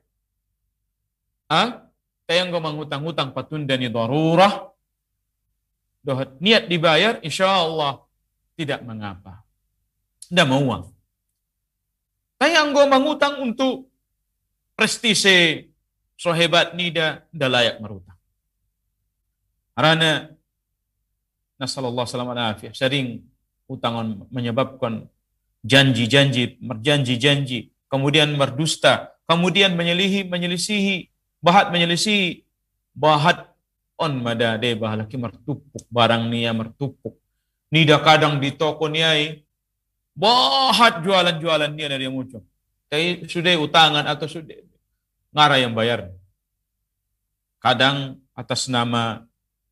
Tayang go mengutang-utang patundani darurah, dohat niat dibayar, insya Allah tidak mengapa. Tidak mau uang. Tayang go mengutang untuk prestise, so hebat nida, tidak layak merutang. Karena nasallallahu salam alaihi sering utangan menyebabkan janji, kemudian berdusta, kemudian menyelisihi, bahat on madade bahalaki mertupuk barang niya mertupuk. Nida kadang di toko niya bahat jualan niya dari yang muncul. Tapi sudah utangan atau sudah ngara yang bayar. Kadang atas nama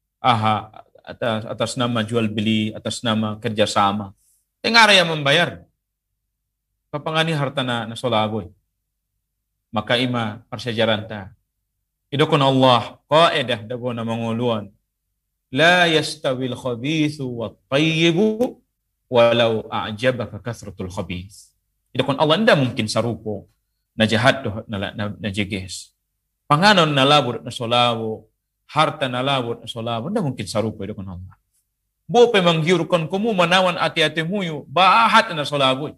atas nama jual beli, atas nama kerjasama. Ngara yang membayar. Papangani harta na solaboy. Maka ima persejaran ta. Idokon Allah qaedah dago na manguluan. La yastawil khabithu wa tayyibu walau a'jabaka kathratul khabith. Idokon Allah nda mungkin sarupo na jahat na jeges. Panganon na labur na solabo, harta na labur na solabo, nda mungkin sarupo idokon Allah. Bope manggiurkon kumu manawan ati-ati muyu, bahat na solabo.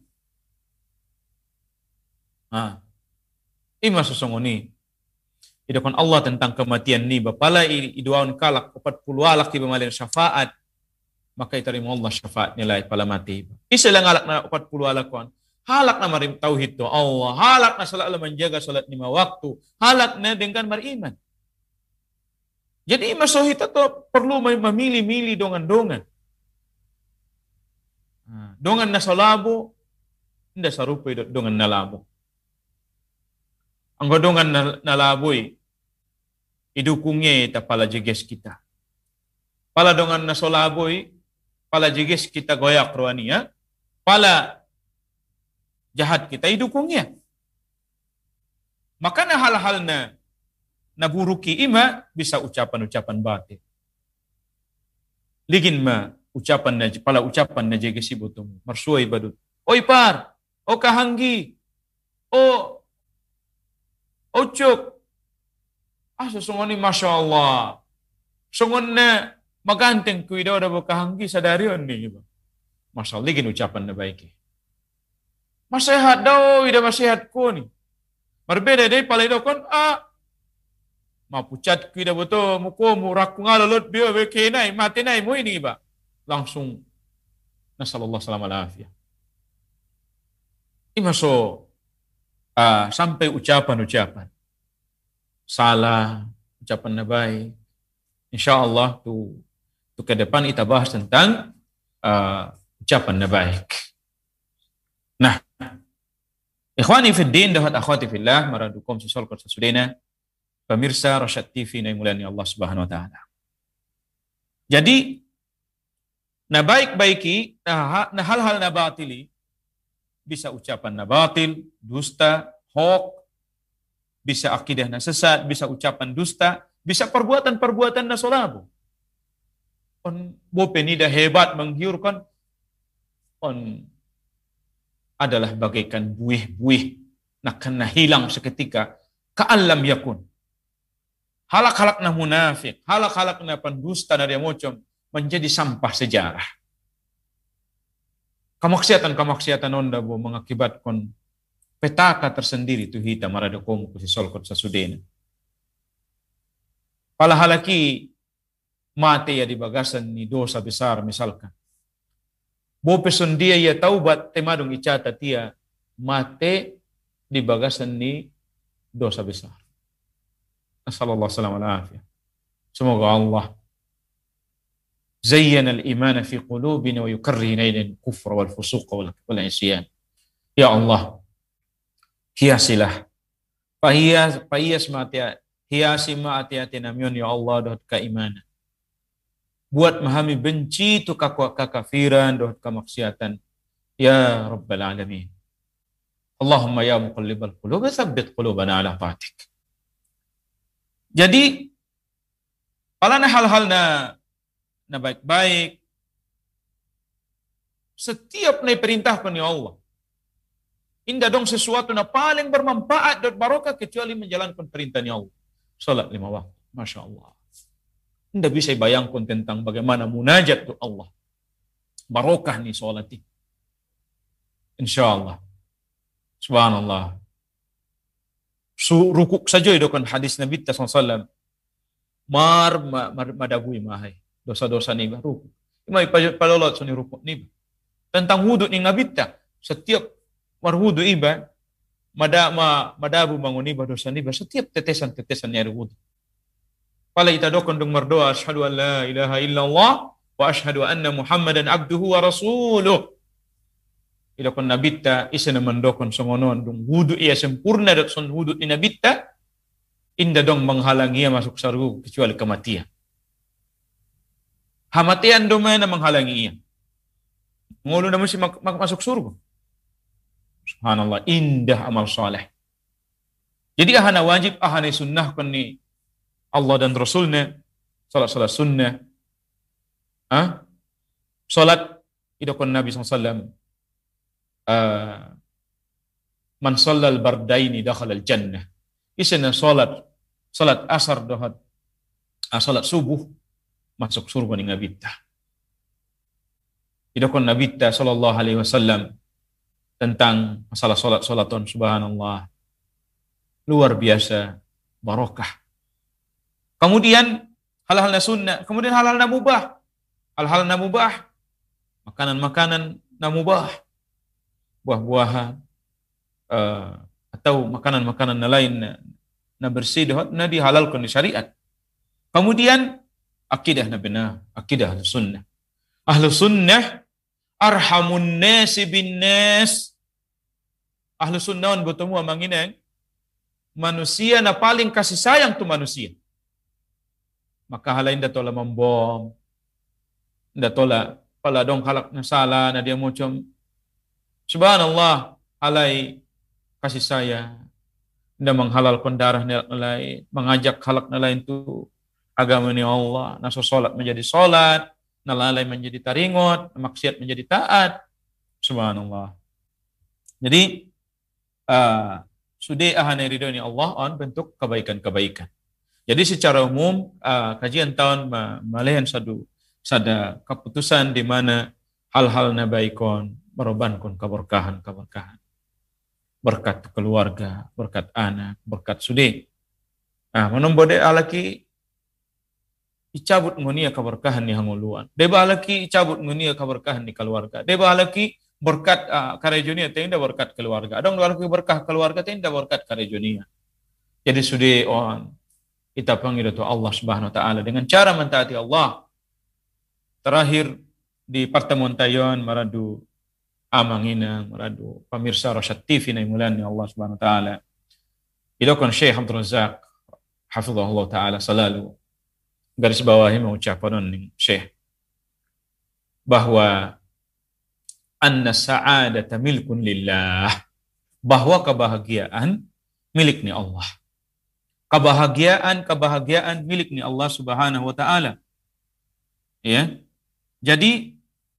Ima susungoni. Idokon Allah tentang kematian ni bapala iduaun kalak 40 alak tiba malin syafaat, maka iterima Allah syafaat nilai pala mati. Isilang alak na 40 alakon, halak na marim tauhid to Allah, halak na selalu menjaga salat 5 waktu, halak na dengan beriman. Jadi masohita to perlu memilih-milih dongan-dongan. Dongan na salabo, hindi sarupo dongan na labo. Ang godongan na laboy, idukungnya ita pala jeges kita. Pala dongan na solaboy, pala jeges kita goyak roania, pala jahat kita idukungnya. Maka na hal-hal na naburuki ima bisa ucapan-ucapan batin. Ligin ma ucapan na jege si botom. Marsuay badut. Oy par, o kahanggi, o cuk. Susungoni Masya Allah. Sungon na maganteng kuidaw da bo kahanggi sa darion ni. Masya Allah, gin ucapan na baik. Masehat daw, ida masehat ko ni. Marbeda day palay daw kon, mapucat ko ida boto, muko, murak ko nga lalot, biyo, kenay, matinay mo ini ba? Langsung, nasallallahu salam alafiyah. Imaso, sampai ucapan-ucapan. Salah, ucapan na baik. InsyaAllah, tu ke depan kita bahas tentang ucapan na baik. Nah, ikhwani fiddin dan akhwati fillah, maradukum sisolkot sasudena, pemirsa Rasyad TV na imulani Allah Subhanahu wa taala. Jadi na baik-baiki, na hal-hal na batili, bisa ucapan na batil, dusta, hoax, bisa akidah na sesat, bisa ucapan dusta, bisa perbuatan-perbuatan na solabu. On bopenida hebat menghiurkan, on adalah bagaikan buih-buih nak hilang seketika ka'allam yakun. Halak-halak na munafik, halak-halak na pendusta dari mocom menjadi sampah sejarah. Kamaksiatan onda bo mengakibatkan petaka tersendiri tu hita maradakom ku si solkot sasudena. Pala halaki mati ya di bagasan ni dosa besar misalkan. Bo peson dia ya taubat temadong icata tia mate di bagasan ni dosa besar. Sallallahu alaihi wasallam. Semoga Allah zayyana al-iman fi qulubina wa yukarrihna ilal kufra wal fusuq wal isyan. Ya Allah, hiasilah. Pahiyas mati hiasi mati namion ya Allah dot keimanan. Buat memahami benci tu kekafiran dan kemaksiatan. Ya Rabbal Alamin. Allahumma ya muqallibal qulub, tsabbit qulubana ala ta'atik. Jadi, palana hal-hal na baik-baik, setiap na perintahkan ya Allah. Indah dong sesuatu na paling bermanfaat dan barokah kecuali menjalankan perintah ya Allah. Salat 5 waktu. Masya Allah. Tidak bisa bayangkan tentang bagaimana munajat tu Allah. Barokah ni salat ini. InsyaAllah. Subhanallah. Rukuk saja itu kan hadis Nabi SAW. Madabui mahai. Dosa-dosa ni rukuk. Imai palolot suni rukuk ni. Tentang wudhu ni Nabi setiap marwudhu iba madabu bangun iba dosa ni setiap tetesan-tetesan ni ada wudhu. Pala ita dokon dong merdoa asyhadu an la ilaha illallah wa asyhadu anna Muhammadan abduhu wa rasuluh. Ila kon nabitta isa na mendokon songonon dong wudu ia sempurna dok son wudu ni nabitta inda dong menghalangi ia masuk surga kecuali kematian. Hamatian dong na menghalangi ia. Ngulu na mesti masuk surga. Subhanallah, indah amal saleh. Jadi ahana wajib ahana sunnah kon ni Allah dan Rasulnya, salat sunnah, salat idokon Nabi SAW, man sallal bardaini dakhala al jannah. Isana salat asar dohat, salat subuh masuk surga ni Nabi ta. Idokon Nabi ta sallallahu alaihi wasallam tentang masalah salaton subhanallah. Luar biasa barokah. Kemudian hal-hal na sunnah, kemudian hal-hal na mubah. Hal-hal na mubah, makanan-makanan na mubah, buah-buahan, atau makanan-makanan na lain na bersih, na dihalalkan di syariat. Kemudian akidah na benar, akidah ahlu sunnah. Ahlu sunnah arhamun nasi bin nas. Ahlu sunnah bertemu amanginang manusia na paling kasih sayang tu manusia. Maka halain datola membom, datola pala dong halak na salah na dia macam subhanallah halai kasih sayang, nda menghalalkan darah na lain, mengajak halak na lain tu agama ni Allah, naso salat menjadi salat, nalalai menjadi taringot, maksiat menjadi taat. Subhanallah. Jadi sudah ahana ridhoni Allah on bentuk kebaikan-kebaikan. Jadi secara umum kajian tahun malihan sada keputusan di mana hal-hal nabaikon merobankan keberkahan. Berkat keluarga, berkat anak, berkat sude. Menombode alaki icabut ngunia keberkahan ni hanguluan. Deba alaki icabut ngunia keberkahan di keluarga. Deba alaki berkat karejonia tenda berkat keluarga. Adong alaki berkah keluarga tenda berkat karejonia. Jadi sude on kita panggil itu Allah Subhanahu wa taala dengan cara mentaati Allah. Terakhir di pertemuan tayon maradu amangina maradu pemirsa Rosyad TV na imulan ni Allah Subhanahu wa taala. Idokon Syekh Abdul Razak hafizahullah taala selalu garis bawahi mengucapkan ning Syekh bahwa anna sa'adata milkun lillah, bahwa kebahagiaan miliknya Allah. Kebahagiaan miliknya Allah Subhanahu wa taala. Ya. Jadi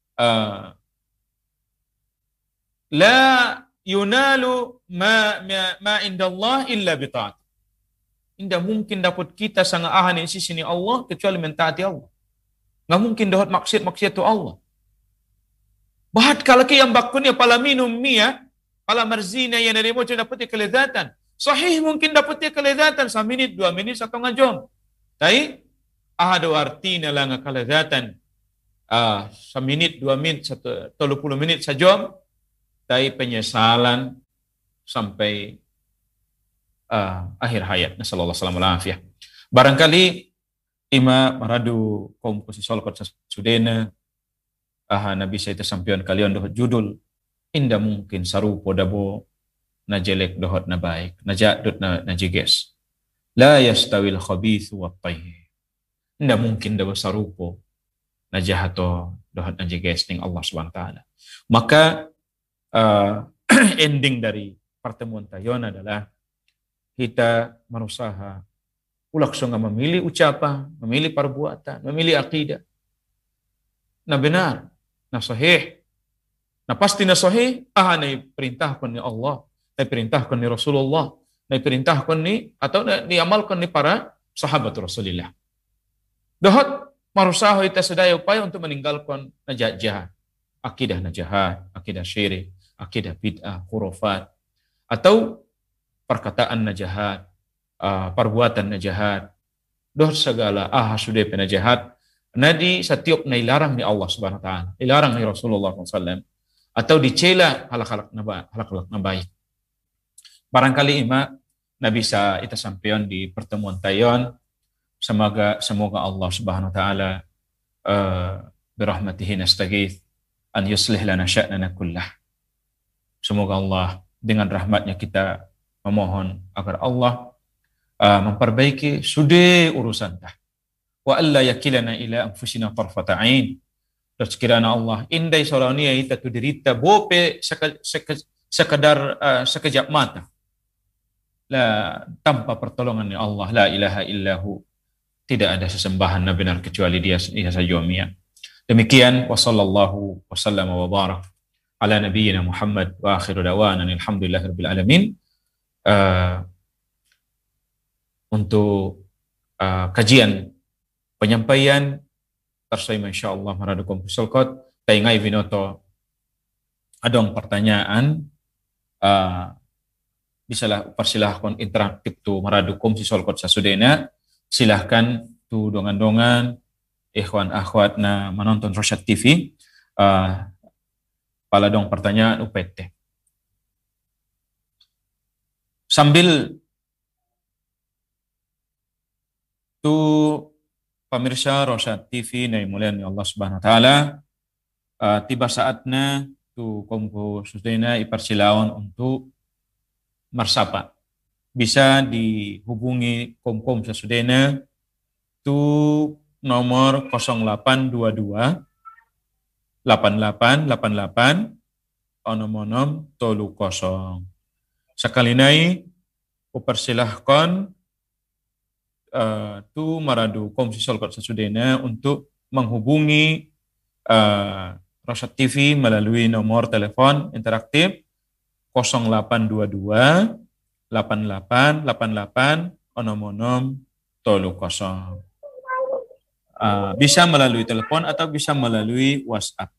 la yunalu ma indallah illa bita'at. Tidak mungkin dapat kita sangat ahan di sisi Allah kecuali mentaati Allah. Nggak mungkin dapat maksiat itu Allah. Bahat kalau yang bakunnya pala minum mia, pala marzina yang dari mojo dapat kelezatan. Sahih mungkin dapat kelezatan 1 menit, 2 menit, 1 jam. Tapi ada artinya lah kelezatan 1 menit, 2 menit, 30 menit sejam. Tapi penyesalan sampai akhir hayat. Nasallallahu alaihi wasallam. Barangkali ima maradu kaum kusi solkot sudena Nabi saya tersampion kalian dohot judul inda mungkin sarupo dabo na jelek dohot na baik na jadut na jiges la yastawil khabithu wat tayyib. Inda mungkin dabo sarupo na jahato dohot na jiges ning Allah Subhanahu wa taala. Maka ending dari pertemuan tayon adalah kita berusaha langsung memilih ucapan, memilih perbuatan, memilih akidah. Nah benar, nah sahih. Nah pasti nah sahih, na perintahkan ni Allah, na perintahkan ni Rasulullah, na perintahkan ni atau diamalkan ni para sahabat Rasulullah. Dohot berusaha kita sedaya upaya untuk meninggalkan jahat, akidah jahat, akidah syirik, akidah bid'ah, khurafat, atau perkataan najahat, perbuatan najahat, doh segala sudah penajahat, nadi setiap nailarang ni Allah Subhanahu wa taala, dilarang ni Rasulullah SAW, atau dicela halak-halak na baik. Barangkali ima Nabi sa ita sampeon di pertemuan tayon, semoga Allah Subhanahu wa taala birahmatihi nastaghith an yuslih lana sya'nana kullah. Semoga Allah dengan rahmatnya kita memohon agar Allah memperbaiki sudah urusan dah. Wa alla yakilana ila anfusina tarfata ain. Dan sekiranya Allah indai sorania ita tu derita bope sekadar sekejap mata. Tanpa pertolongan Allah la ilaha illahu. Tidak ada sesembahan benar kecuali Dia saja Mia. Demikian wa sallallahu wa sallama wa barak ala nabiyyina Muhammad wa akhiru dawana alhamdulillahirabbil alamin. Untuk kajian penyampaian tersai insyaallah maradu kompusul kot taingai vinoto adong pertanyaan bisalah persilahkan interaktif tu maradu kompusul kot sasudena silahkan tu dongan-dongan ikhwan akhwat na menonton Rosyad TV paladong pertanyaan UPT sambil tu pemirsa Rosyad TV na imulian ni Allah Subhanahu wa taala tiba saatnya tu kompo susdena ipersilawan untuk marsapa. Bisa dihubungi kom sasudena tu nomor 0822 8888 onom-onom tolu kosong. Sekali nai upersilahkan tu maradu komisi solkot sasudena untuk menghubungi Rosyad TV melalui nomor telepon interaktif 0822 8888 onom-onom tolu kosong. Bisa melalui telepon atau bisa melalui WhatsApp.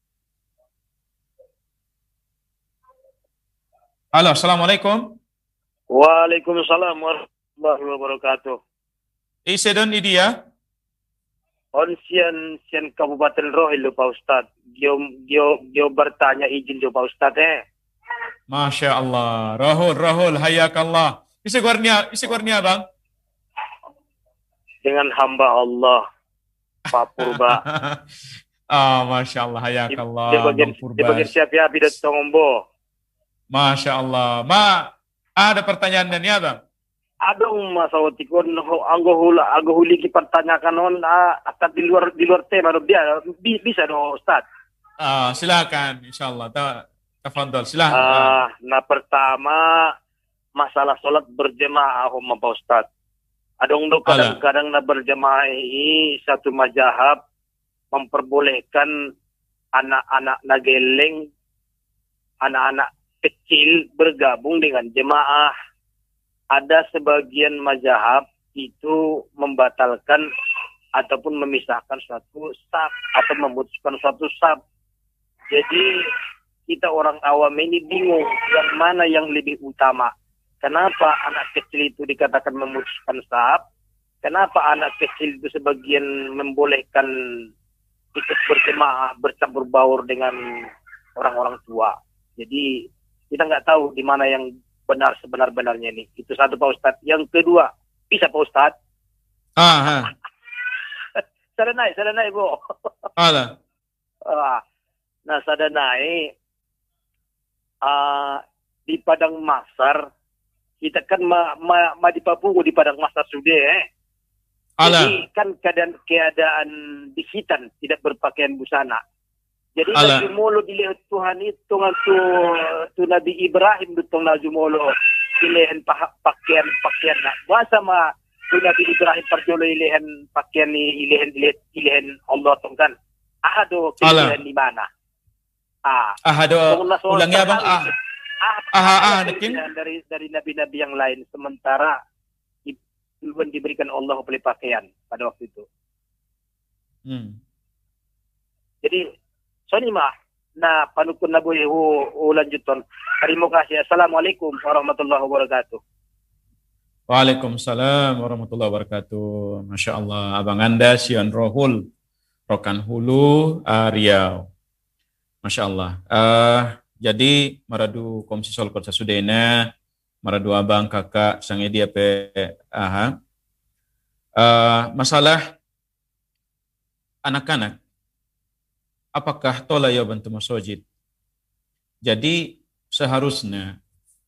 Halo, Assalamualaikum. Waalaikumsalam warahmatullahi wabarakatuh. Isedon idia. On sian Kabupaten Rohil Pak Ustad. Gio bertanya izin Pak Ustad Masya Allah. Rahul, hayakallah. Isi guarnia bang. Dengan hamba Allah, Pak Purba. Masya Allah, hayakallah. Di bagian siap ya, bidat tongombo. Masya Allah. Ada pertanyaan dan ya bang? Adong masawatikon anggo huli ki pertanyakan on akan di luar tema dia bisa dong Ustaz. Silakan insyaallah. Tafadhol silakan. Nah pertama masalah salat berjemaah Pak Ustaz. Adong kadang-kadang na berjemaah ini satu mazhab memperbolehkan anak-anak nageleng, anak-anak kecil bergabung dengan jemaah. Ada sebagian mazhab itu membatalkan ataupun memisahkan suatu saf atau memutuskan suatu saf. Jadi kita orang awam ini bingung yang mana yang lebih utama. Kenapa anak kecil itu dikatakan memutuskan saf? Kenapa anak kecil itu sebagian membolehkan ikut berjemaah bercampur baur dengan orang-orang tua? Jadi kita nggak tahu di mana yang benar sebenar-benarnya ini. Itu satu Pak Ustadz. Yang kedua, bisa Pak Ustadz? Sadanai Bu. Ala. Nah, sadanai di Padang Masar, kita kan di Papua di Padang Masar sudah Jadi kan keadaan di hitan, tidak berpakaian busana. Jadi najumolo dilihat Tuhan itu tu Nabi Ibrahim dutong najumolo dilihat pakaian nak bahasa ma tu Nabi Ibrahim perjolo ilihan pakaian ni ilihan Allah tongkan ahado kilihan di mana ahado ulangnya bang nekin dari nabi-nabi yang lain sementara belum diberikan Allah oleh pakaian pada waktu itu. Jadi Sonima, nah panukun nabu lanjuton. Terima kasih. Assalamualaikum warahmatullahi wabarakatuh. Waalaikumsalam warahmatullahi wabarakatuh. Masya Allah, abang anda Sion Rohul, Rokan Hulu, Riau. Masya Allah. Jadi maradu komisi sol kota Sudena, maradu abang kakak sang edia pe masalah anak-anak. Apakah tola ya bantu masojid? Jadi seharusnya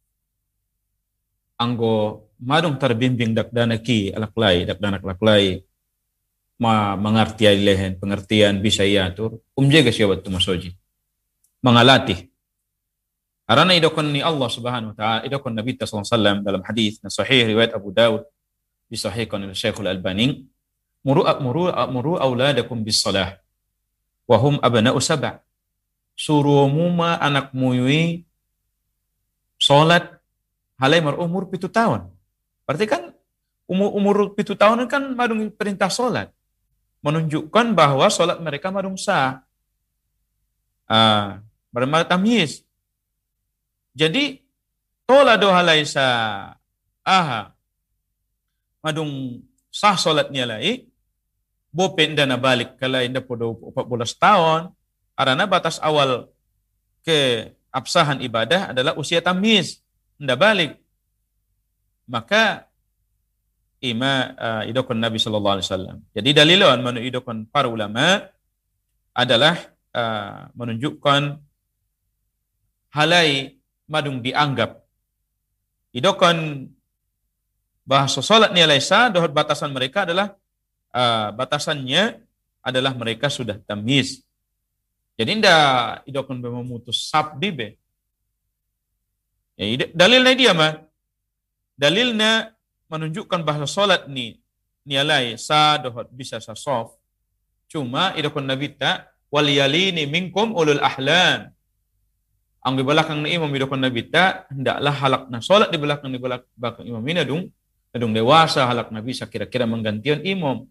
anggo madung terbimbing dak danaki danak laklai mengerti lehen pengertian bisa iatur jaga siapa bantu masojid mengalatih karena idokon ni Allah Subhanahu wa taala idokon Nabi sallallahu alaihi wasallam dalam hadis sahih riwayat Abu Daud disahihkan oleh Syekhul Albani muru auladakum bis salah wahum abna'u sab'a. Suruh muma anak muyui salat halai umur 7 tahun. Berarti kan umur 7 tahun kan madung perintah salat. Menunjukkan bahwa salat mereka madung sah. Bermakna tamyiz. Jadi tola do halai sa madung sah salatnya lai bopen dana balik kalau inda podo 14 tahun karena batas awal ke absahan ibadah adalah usia tamyiz inda balik maka idokon Nabi sallallahu alaihi wasallam. Jadi dalilon manu idokon para ulama adalah menunjukkan halai madung dianggap idokon bahasa salat ni alaisa dohot batasan mereka adalah batasannya adalah mereka sudah tamyiz. Jadi ndak idokon memutus sabdi be. Ya, dalilnya dia mah. Dalilnya menunjukkan bahwa salat ni nialai sa dohot bisa sa soft. Cuma idokon Nabi tak wal yalini minkum ulul ahlam. Ang di belakang ni imam idokon nabi ta hendaklah halakna salat di belakang imam ini adung dewasa halak nabi kira-kira menggantian imam.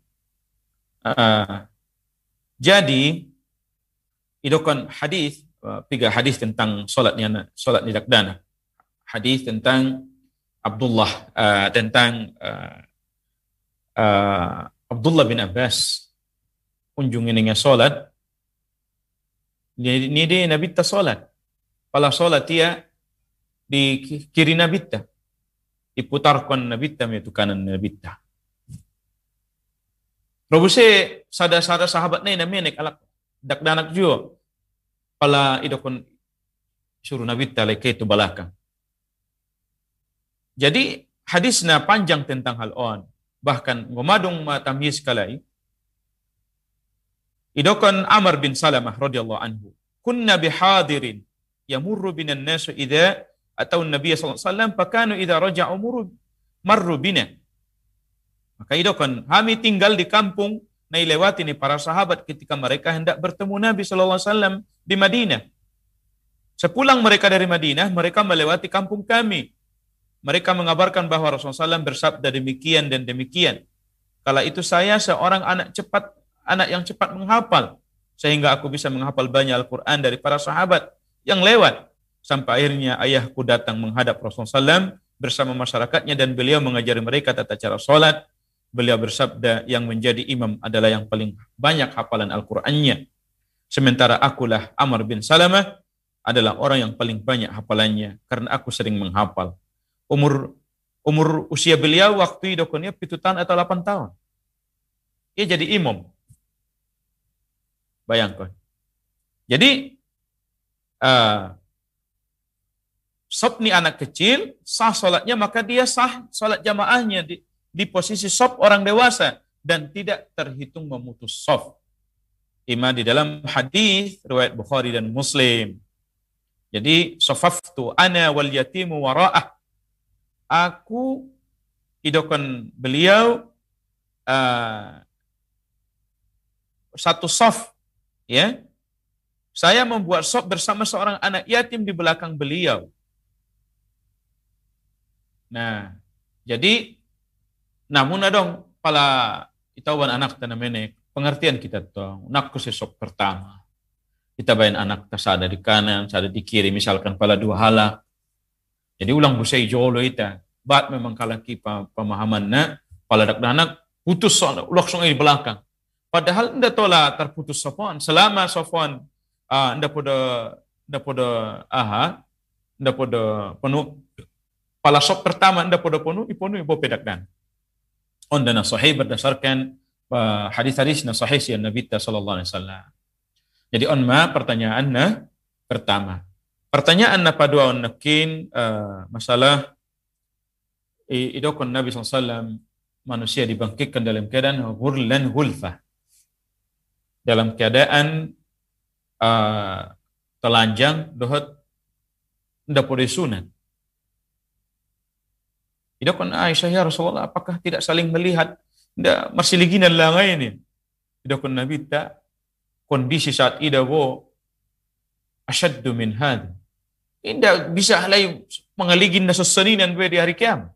Jadi idokon hadis tiga hadis tentang salat ni dakdana. Hadis tentang Abdullah Abdullah bin Abbas kunjungin dengan salat. Ni dia nabi ta salat. Pala salat dia di kiri nabi ta. Diputarkan nabi ta itu kanan nabi ta. Robuse sada-sada sahabat ni namanya alak dakdanak juga. Pala idokon suruh nabi ta leke itu belakang. Jadi hadisnya panjang tentang hal on. Bahkan ngomadong matamyiz kalai. Idokon Amr bin Salamah radhiyallahu anhu. Kunna bihadirin yamurru binan nasu idza atau Nabi sallallahu alaihi wasallam fakanu idza raja'u marru bina. Maka idokon kami tinggal di kampung na ilewati ni para sahabat ketika mereka hendak bertemu Nabi sallallahu alaihi wasallam di Madinah. Sepulang mereka dari Madinah, mereka melewati kampung kami. Mereka mengabarkan bahwa Rasulullah SAW bersabda demikian dan demikian. Kala itu saya seorang anak yang cepat menghafal, sehingga aku bisa menghafal banyak Al-Quran dari para sahabat yang lewat. Sampai akhirnya ayahku datang menghadap Rasulullah SAW bersama masyarakatnya dan beliau mengajari mereka tata cara sholat. Beliau bersabda yang menjadi imam adalah yang paling banyak hafalan Al-Qurannya. Sementara akulah Amr bin Salamah adalah orang yang paling banyak hafalannya karena aku sering menghafal. Umur usia beliau waktu idokonnya 7 tahun atau 8 tahun. Ia jadi imam. Bayangkan. Jadi sob ni anak kecil sah solatnya, maka dia sah solat jamaahnya di posisi sob orang dewasa dan tidak terhitung memutus sof. Ima di dalam hadis riwayat Bukhari dan Muslim. Jadi sofaftu ana wal yatimu wara'ah. Aku idokon beliau satu sof, ya. Saya membuat sof bersama seorang anak yatim di belakang beliau. Nah, jadi namun adong pala itawan anak tanah menek pengertian kita tuh. Nakku sesok pertama. Kita bayan anak tasada di kanan, sada di kiri, misalkan pala 2 halak. Jadi ulang busai jolo ita, bat memang kalaki pemahaman na, pala anak putus soal, ulak song di belakang. Padahal nda tola terputus sofon, selama sofon nda podo penuh, pala sok pertama nda podo penuh, ipo pedakdan. Ondana sahih berdasarkan hadis-hadis na sahih si Nabi sallallahu alaihi wasallam. Jadi pertanyaannya pertama. Pertanyaan apa dua nakin masalah idokon Nabi SAW manusia dibangkitkan dalam keadaan hurlan hulfah, dalam keadaan telanjang dohot ndak boleh sunat. Idokon Aisyah, ya Rasulullah, apakah tidak saling melihat? Ndak masih liginan langai ini. Idokon Nabi tak kondisi saat idawo asyaddu min had. Tidak bisa halai mengaligin na susaninan di hari kiamat.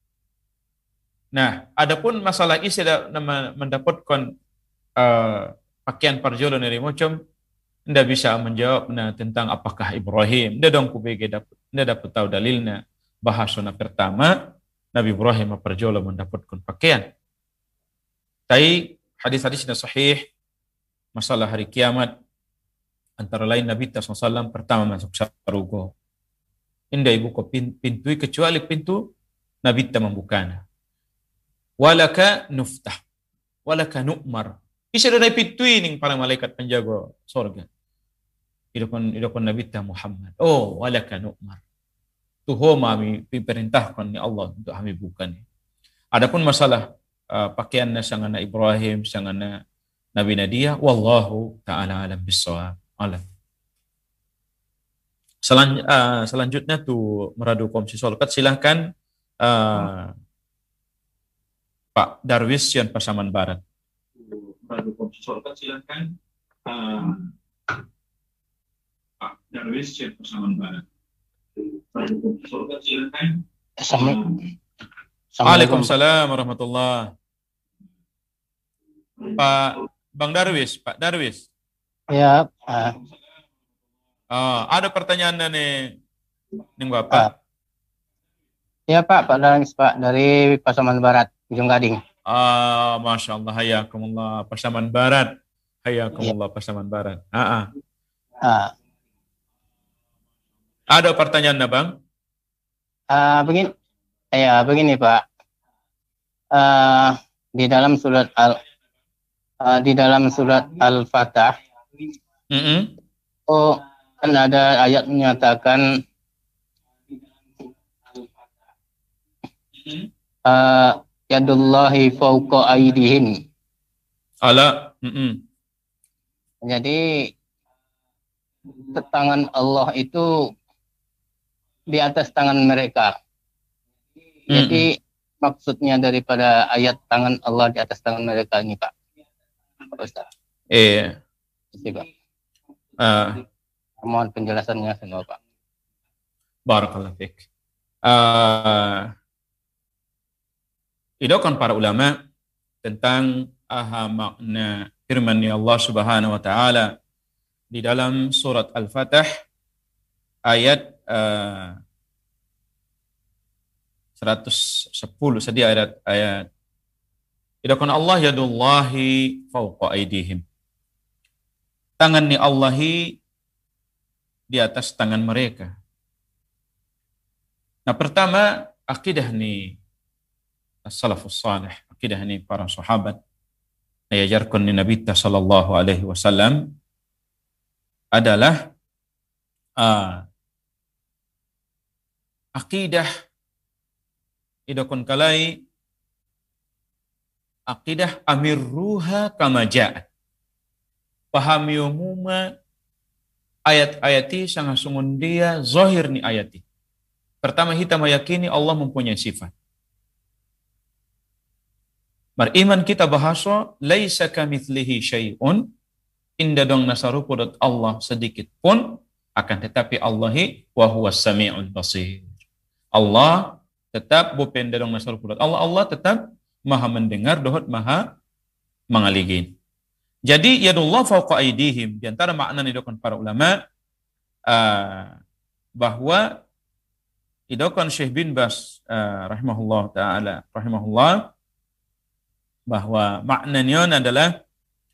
Nah, adapun masalah isi mendapatkan pakaian parjolo dari mocom, tidak bisa menjawab tentang apakah Ibrahim. Tidak dong tidak dapat tahu dalilnya. Bahasana pertama, Nabi Ibrahim parjolo mendapatkan pakaian. Tapi hadis-hadisnya sahih, masalah hari kiamat, antara lain Nabi SAW pertama masuk sarugo. Indah ibu ko pintu kecuali pintu Nabi ta membukana. Walaka nuftah, walaka nu'mar. Isa doon ay pintu ning para malaikat penjaga sorga. Idokon Nabi ta Muhammad. Oh, walaka nu'mar. Tuho mami diperintahkan ni Allah untuk kami buka ni. Adapun masalah pakaiannya sangana Ibrahim, sangana Nabi Nadia, wallahu ta'ala alam bissawab. Selanjutnya tuh meradu komisi solkat, silahkan Pak Darwis Yan Pasaman Barat. Meradu komisi solkat, silahkan Pak Darwis, Syekh Pasaman Barat. Waalaikumsalam warahmatullahi. Bang Darwis, Pak Darwis. Ya, Ada pertanyaan nih Bapak. ya Pak Darwis Pak dari Pasaman Barat, Ujung Gading. Masya Allah, hayakumullah Pasaman Barat. Hayakumullah Pasaman Barat. Ada pertanyaan Bang? Begini Pak. Di dalam surat Al-Fatah, kan ada ayat menyatakan yadullahi fawqa aydihim. Jadi tangan Allah itu di atas tangan mereka. Jadi maksudnya daripada ayat tangan Allah di atas tangan mereka ini Pak Ustaz. Iya. Pak. Mohon penjelasannya semua Pak. Barakallahu fiik. Idokan para ulama tentang makna firman Allah Subhanahu wa taala di dalam surat Al-Fatah ayat 110 sedia ayat idokan Allah yadullahi fawqa aydihim. Tangan ni Allahi di atas tangan mereka. Nah, pertama akidah ni as-salafus salih, akidah ni para sahabat diajarkan ni Nabi sallallahu alaihi wasallam adalah akidah idakun kalai akidah amirruha kama ja'at. Pahami umuma ayat-ayati sangat sungun dia zahir ni ayati. Pertama kita meyakini Allah mempunyai sifat. Beriman kita bahasa laisa kamitslihi syai'un, inda dong nasarupudat Allah sedikit pun, akan tetapi Allahi wa huwas sami'ul basir. Allah tetap bupen dong nasarupudat Allah tetap maha mendengar, dohot maha mengaligin. Jadi yadullah fawqa aydihim, di antara makna didokan para ulama bahwa didokan Syekh bin Bas rahimahullah bahwa maknanya adalah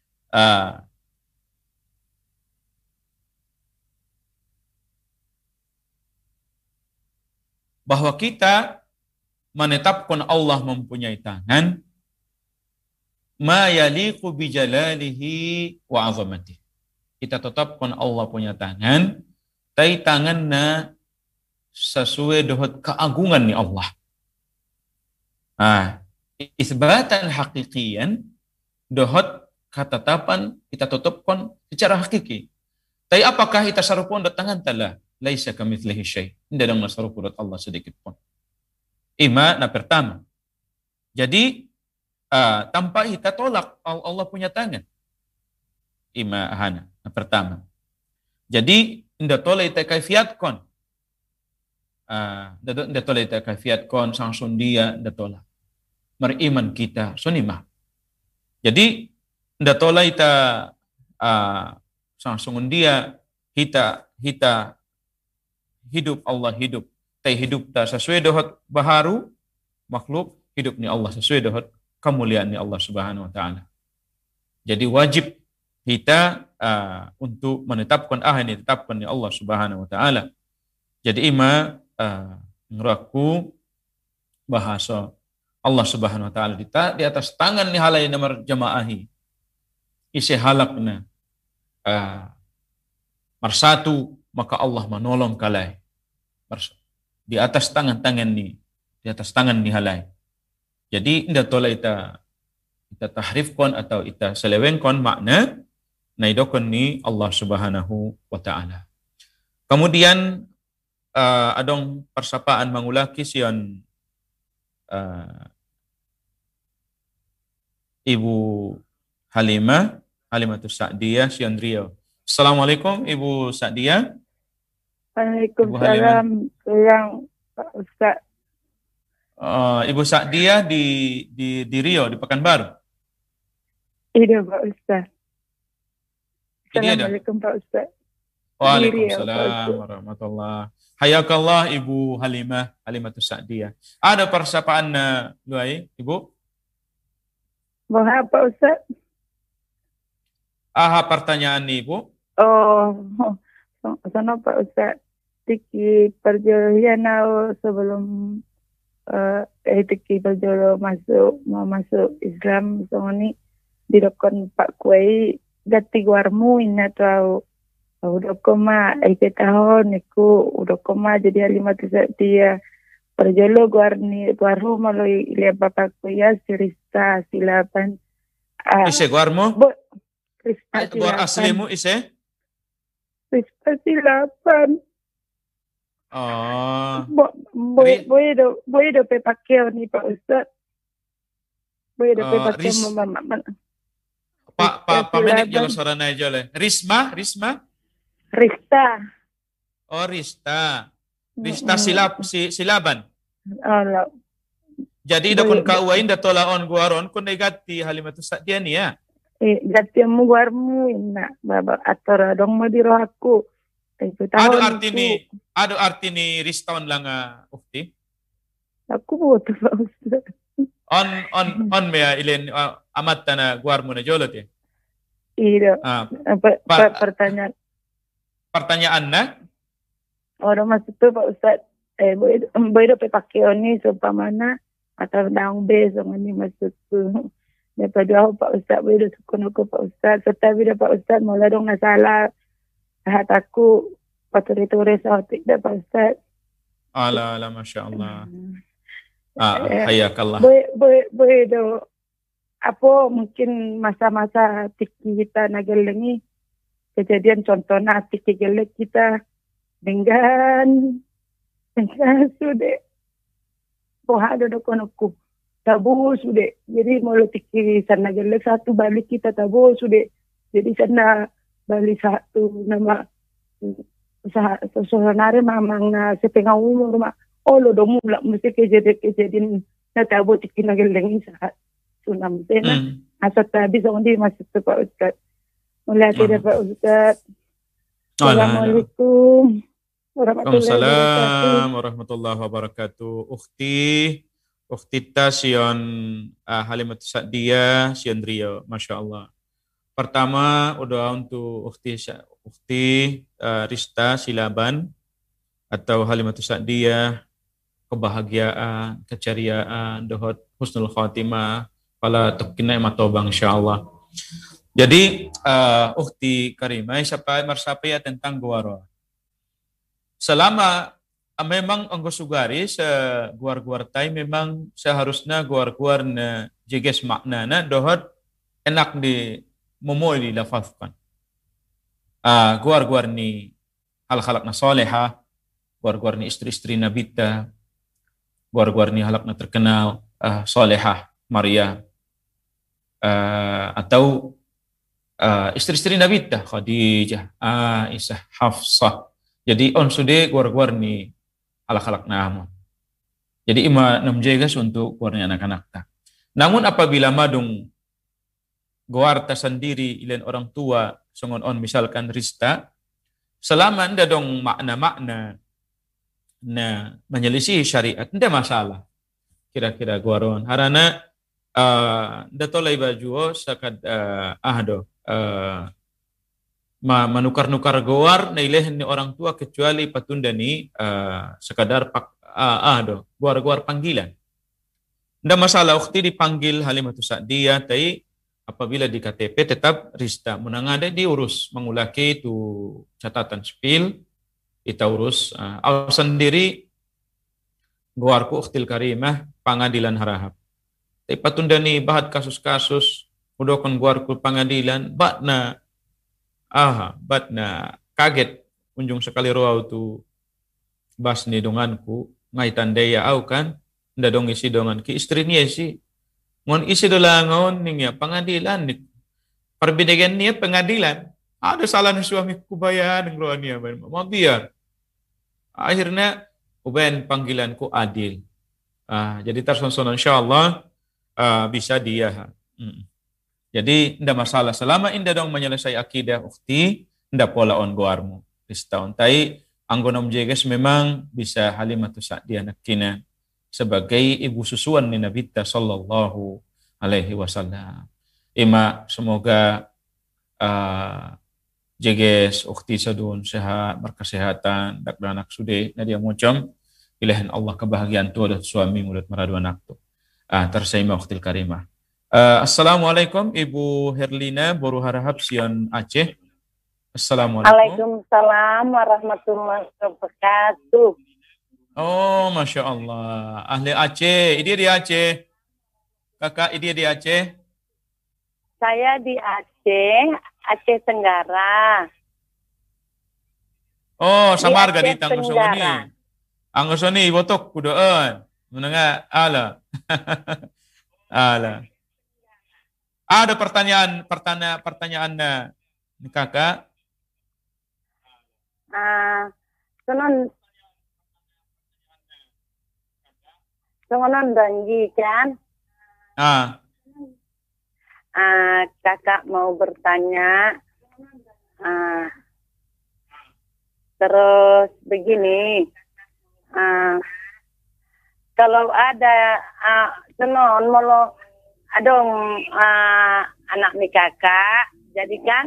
bahwa kita menetapkan Allah mempunyai tangan ma yaliqu bi jalalihi wa 'azamatihi. Kita tetapkan Allah punya tangan, tapi tangannya sesuai dengan keagungan ni Allah. Isbatan hakikian dohot ketetapan kita tetapkan secara hakiki. Tapi apakah kita sarupun tangan telah laisa kamitslihi syai'. Tidak ada sarupun Allah sedikit pun. Ima na pertama. Jadi tanpa kita tolak Allah punya tangan. Ima hana na pertama. Jadi inda tolak kita kaifiatkon. Inda tolak kita kaifiatkon sang sundia inda tolak. Meriman kita sunimah. Jadi inda tolak kita sang sundia kita hidup Allah hidup. Tai hidup ta sesuai dengan baharu makhluk hidup ni Allah sesuai dengan kemuliaan ni Allah Subhanahu wa taala. Jadi wajib kita untuk menetapkan ini ditetapkan ni Allah Subhanahu wa taala. Jadi ima ngeraku bahasa Allah Subhanahu wa taala di atas tangan ni halai nomor jamaahi. Isi halakna marsatu maka Allah menolong kalai. Di atas tangan-tangan ni, di atas tangan ni halai. Jadi indah tolak kita tahrifkan atau kita selewengkan makna naidokon ni Allah Subhanahu wa taala. Kemudian adong persapaan mangulaki sian Ibu Halimatus Sa'diyah sian Riau Assalamualaikum Ibu Sa'diyah. Waalaikumsalam. Kurang Pak Ustaz. Ibu Sa'diyah di Rio, di Pekanbaru. Iya Pak Ustaz. Ini ada. Assalamualaikum Pak Ustaz. Waalaikumsalam warahmatullahi. Hayakallah Ibu Halimatus Sa'diyah. Ada persapaan Luai, Ibu? Mohon Pak Ustaz. Pertanyaan Ibu. Sana Pak Ustaz. Tiki perjalanan sebelum tiki perjalanan mau masuk Islam songoni didokon Pak Kuai gati guarmu ina tahu udah koma tahun niku udah koma jadi Halimatus Sa'diyah perjalo guarhu maloi ile Bapak Kuya sirista silapan Ise guarmu? Rista Guar aslimu ise? Rista silapan. Voy a pepaqueo ni Pak Ustaz. Voy a pepaqueo mama. Pak menek jalo sorana jole. Risma? Rista. Oh, Rista silaban. Allah. Jadi dokon kauain da tolaon guaron kun negati Halimatus Sa'diyah ni ya. Gati mu guarmu ina baba atora dong mo diro aku. Ado arti ni Riston lang ukti. Aku butuh Pak Ustaz. On mea ilen amat na guarmu na jolot ya. Iya. Pertanyaan na? Orang masuk tu Pak Ustaz. Boleh pakai ni seumpamana atau daun besok ni masuk tu. Daripada Pak Ustaz boleh sukun aku Pak Ustaz. Tetapi Pak Ustaz mula dong salah. Hat aku tulis tidak Pak Ustaz. Ala Masya Allah. Hayakallah. Boleh do. Apa mungkin masa-masa tiki kita nagelengi kejadian contohnya tiki gelek kita dengan sudah pohon do konoku tabu sudah. Jadi mau tiki sana gelek satu balik kita tabu sudah. Jadi sana balik satu nama sebenarnya mamang na sepengah umur mak lo domu lah mesti kejadian na tabu tiki nageleng saat sunam tena asal habis ondi masih tu Pak Ustaz mulai ada Pak Ustaz. Assalamualaikum warahmatullahi wabarakatuh. Ukhti ta sion Halimatus Sa'diyah sion Rio, Masya Allah. Pertama, udah untuk Ukhti Rista Silaban atau Halimatus Sa'diyah, kebahagiaan, keceriaan, dohot husnul khatimah, pala tukina matobang insyaallah. Jadi Ukhti Karimah siapa marsapaya tentang guaro. Selama memang anggo sugari guar-guar tai memang seharusnya guar-guar na jeges maknana dohot enak di momoy di lafazkan. Guar-guar ni hal-halak na soleha, guar-guar ni istri-istri nabita, guar-guar ni halak na terkenal soleha Maria, atau istri-istri nabita Khadijah, Aisyah, Hafsah. Jadi on sude guar-guar ni halak-halak na. Jadi ima namjegas untuk guarnya anak-anak ta. Namun apabila madung guarta sendiri ilen orang tua songon on misalkan Rista selama anda dong makna-makna na menyelisih syariat nda masalah kira-kira guaron harana nda tolai baju sakad manukar-nukar guar na ilehen ni orang tua kecuali patunda ni sekadar guar-guar panggilan nda masalah ukti dipanggil Halimatus Sa'diyah tai apabila di KTP tetap Rista menangade diurus mengulaki itu catatan sipil kita urus sendiri guarku Ukhtil Karimah pengadilan harahap. Tapi patunda ni bahat kasus-kasus udokon guarku pengadilan batna kaget unjung sekali roau tu bas ni donganku ngaitan daya au kan nda dong isi dongan ki istri niya si ngon isi dolangon niya pengadilan perbidegan niya pengadilan Ada salah nih suami kubayan ngeluarnya mau biar. Akhirnya uben panggilanku adil. Jadi tersonson insyaallah bisa dia. Jadi tidak masalah selama indah dong menyelesai akidah ukti, tidak pola on goarmu. Tahun tai anggonom jeges memang bisa Halimatu Sa'diyah nakina sebagai ibu susuan ni Nabi sallallahu alaihi wasallam. Ima semoga jeges ukti sadun sehat berkesehatan dak anak sude nadia mocom ilahan Allah kebahagiaan tu dan suami mulut maradu anak tu. Tersaima uktil karimah. Assalamualaikum Ibu Herlina Boru Harahap Sion Aceh. Assalamualaikum. Waalaikumsalam warahmatullahi wabarakatuh. Oh, Masya Allah. Ahli Aceh. Ini di Aceh. Kakak, ini di Aceh. Saya di Aceh, Aceh Tenggara. Oh, samar gak di Aceh Tanggusoni. Tenggara. Anggusoni, botok kudoan. Menengah, ala. Ala. Ada pertanyaan kakak. Sengonon janji kan? Kakak mau bertanya. Terus begini. Kalau ada senon molo adong anak nih kakak, jadi kan?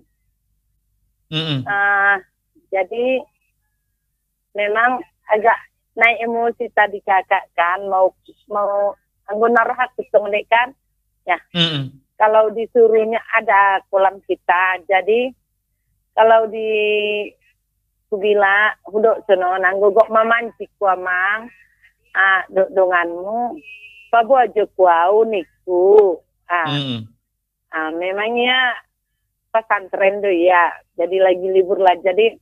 Jadi memang agak naik emosi tadi kakak kan mau anggona hak ketemu kan ya. Kalau disuruhnya ada kolam kita, jadi kalau di kubila hudok sono nanggogok mamanci kuamang donganmu pabu aja kuau niku memangnya pesantren tuh ya, jadi lagi libur lah, jadi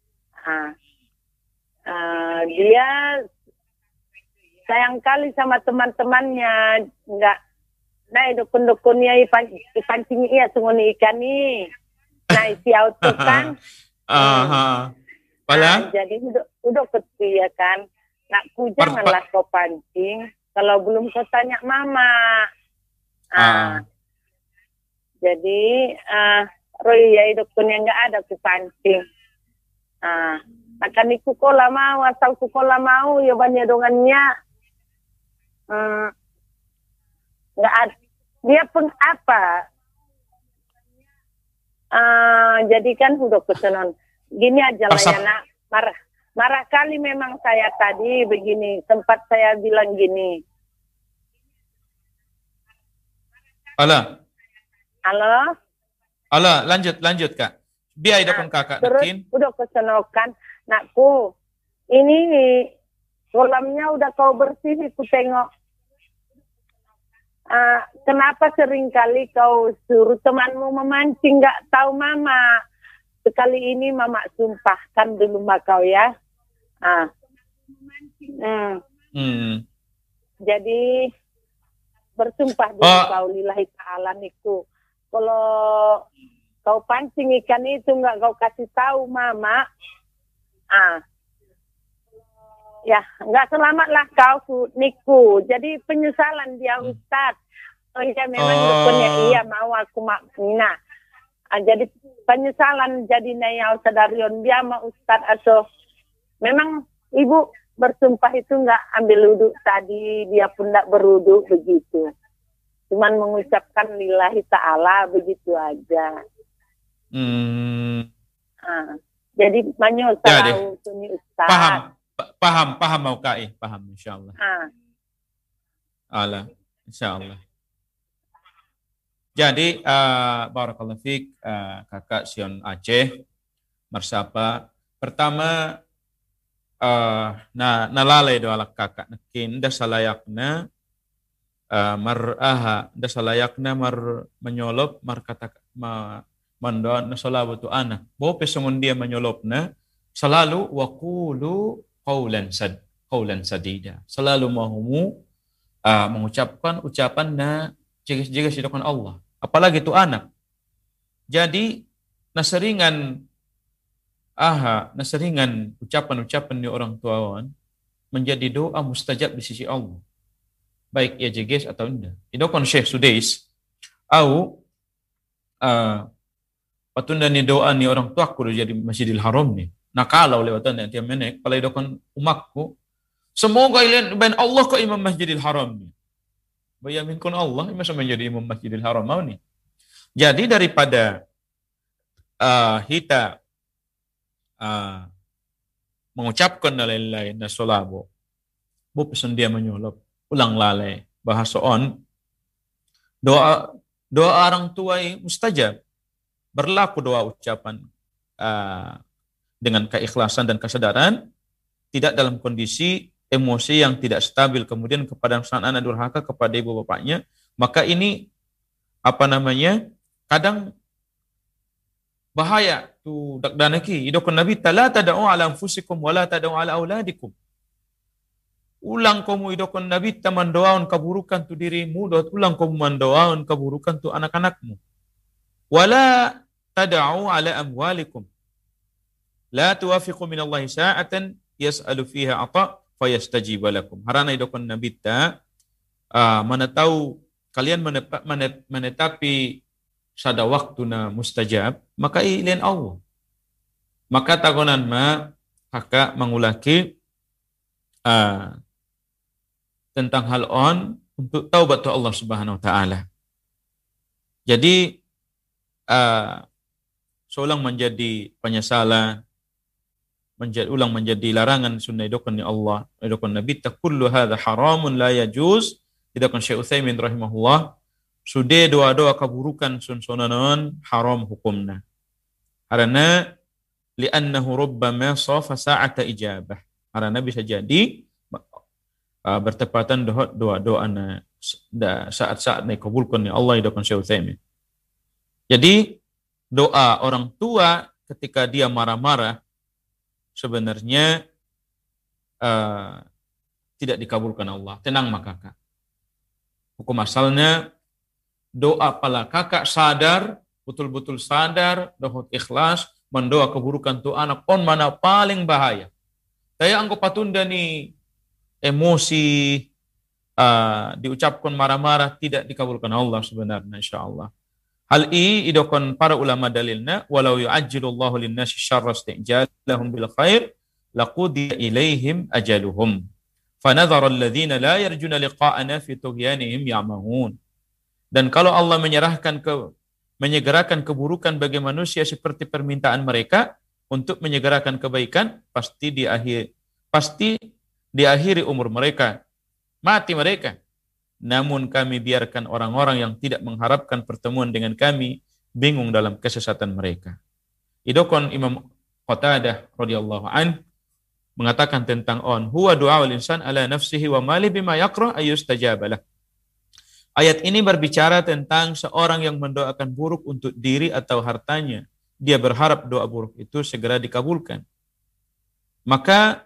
dia sayang kali sama teman-temannya, enggak naik dukun-dukunnya ipancing iya sunguni ikan nih, nah isi auto kan, jadi udah ketia kan, nakku janganlah kau pancing, kalau belum kau tanya mama, jadi Roy ya dukunnya enggak ada ku pancing, akan iku kola mau asal ku kola mau ya banyak dongannya nggak ada dia pun apa jadi kan udah kesenon gini aja lah ya nak marah kali memang saya tadi begini sempat saya bilang gini halo lanjut kak biar ada pun kakak terus nakin. Udah kesenokan nakku ini kolamnya udah kau bersih ku tengok kenapa seringkali kau suruh temanmu memancing nggak tahu mama sekali ini mama sumpahkan dulu sama kau ya jadi bersumpah dulu kau lillahi ta'ala niku kalau kau pancing ikan itu nggak kau kasih tahu mama, ya nggak selamatlah kau niku. Jadi penyesalan dia Ustaz. Oh iya memang dukunnya iya mau aku makna. Jadi penyesalan jadi naya Ustadarion dia sama Ustaz aso. Memang ibu bersumpah itu nggak ambil wudhu tadi dia pun nggak berwudhu begitu. Cuman mengucapkan lillahi ta'ala begitu aja. Jadi banyak tahu suni Ustaz. Paham mau Kai, paham insyaallah. Insyaallah. Jadi barakallahu fiik kakak Sion Aceh Marsapa. Pertama nalalay do alak kakak nakin da salayakna maraha da salayakna menyolop kata mandon nasalabatu anak. Bahwa pesangon dia menyolopna selalu waqulu qaulan sadida. Selalu mahumu mengucapkan ucapan na jegas-jegas di depan Allah. Apalagi itu anak. Jadi naseringan ucapan-ucapan di orang tua menjadi doa mustajab di sisi Allah. Baik ia jeges atau tidak. Idokon Syekh Sudais au patunda ni doa ni orang tua aku jadi Masjidil Haram ni. Nah kalau lewatan nanti menek kalau idokon umakku semoga ilian ben Allah ke imam Masjidil Haram ni. Bayamin kun Allah masa menjadi imam Masjidil Haram mau ni. Jadi daripada kita mengucapkan lain-lain na solabo bu pesan dia menyulap ulang lalai bahasa on doa orang tua mustajab berlaku doa ucapan dengan keikhlasan dan kesadaran tidak dalam kondisi emosi yang tidak stabil kemudian kepada sang anak durhaka kepada ibu bapaknya maka ini kadang bahaya tu dakdanaki idokon nabi la tad'u ala anfusikum wala tad'u ala auladikum ulang kamu idokon nabi mandoaun keburukan tu dirimu ulang kamu mandoaun keburukan tu anak-anakmu wala tad'u ala amwalikum la tuwafiqu minallahi sa'atan yas'alu fiha ata fayastajiba lakum harana idokon nabi mana tahu kalian menetapi sada waktu na mustajab maka ilian Allah maka tagonan kakak mengulaki tentang hal on untuk taubat tu Allah Subhanahu wa taala jadi seulang menjadi penyesalan ulang menjadi larangan sunnah idokon ni Allah idokon nabi kullu hadza haramun la yajuz idokon Syekh Utsaimin rahimahullah sudah doa-doa keburukan sunsunanon haram hukumna. Karena li'annahu rubbama safa sa'ata ijabah. Karena bisa jadi bertepatan doa-doa saat-saat dikabulkan oleh Allah idokon Syekh Utsaimin. Jadi doa orang tua ketika dia marah-marah sebenarnya tidak dikabulkan Allah. Tenang maka kakak. Hukum asalnya doa pala kakak sadar, betul-betul sadar, doa ikhlas, mendoa keburukan tu anak on mana paling bahaya. Saya anggo patunda ni emosi diucapkan marah-marah tidak dikabulkan Allah sebenarnya insyaallah. Hal ini idokon para ulama dalilna walau yu'ajjilullahu lin-nasi syarra isti'jalahum bil khair laqudiya ilaihim ajaluhum. Fanadhara alladhina la yarjuna liqa'ana fi tughyanihim ya'mahun. Dan kalau Allah menyegerakan keburukan bagi manusia seperti permintaan mereka untuk menyegerakan kebaikan, pasti diakhiri umur mereka, mati mereka. Namun kami biarkan orang-orang yang tidak mengharapkan pertemuan dengan kami bingung dalam kesesatan mereka. Idokon Imam Qatadah radhiyallahu an mengatakan tentang huwa du'aul insan ala nafsihi wa mali bima yaqra ayustajabalah. Ayat ini berbicara tentang seorang yang mendoakan buruk untuk diri atau hartanya. Dia berharap doa buruk itu segera dikabulkan. Maka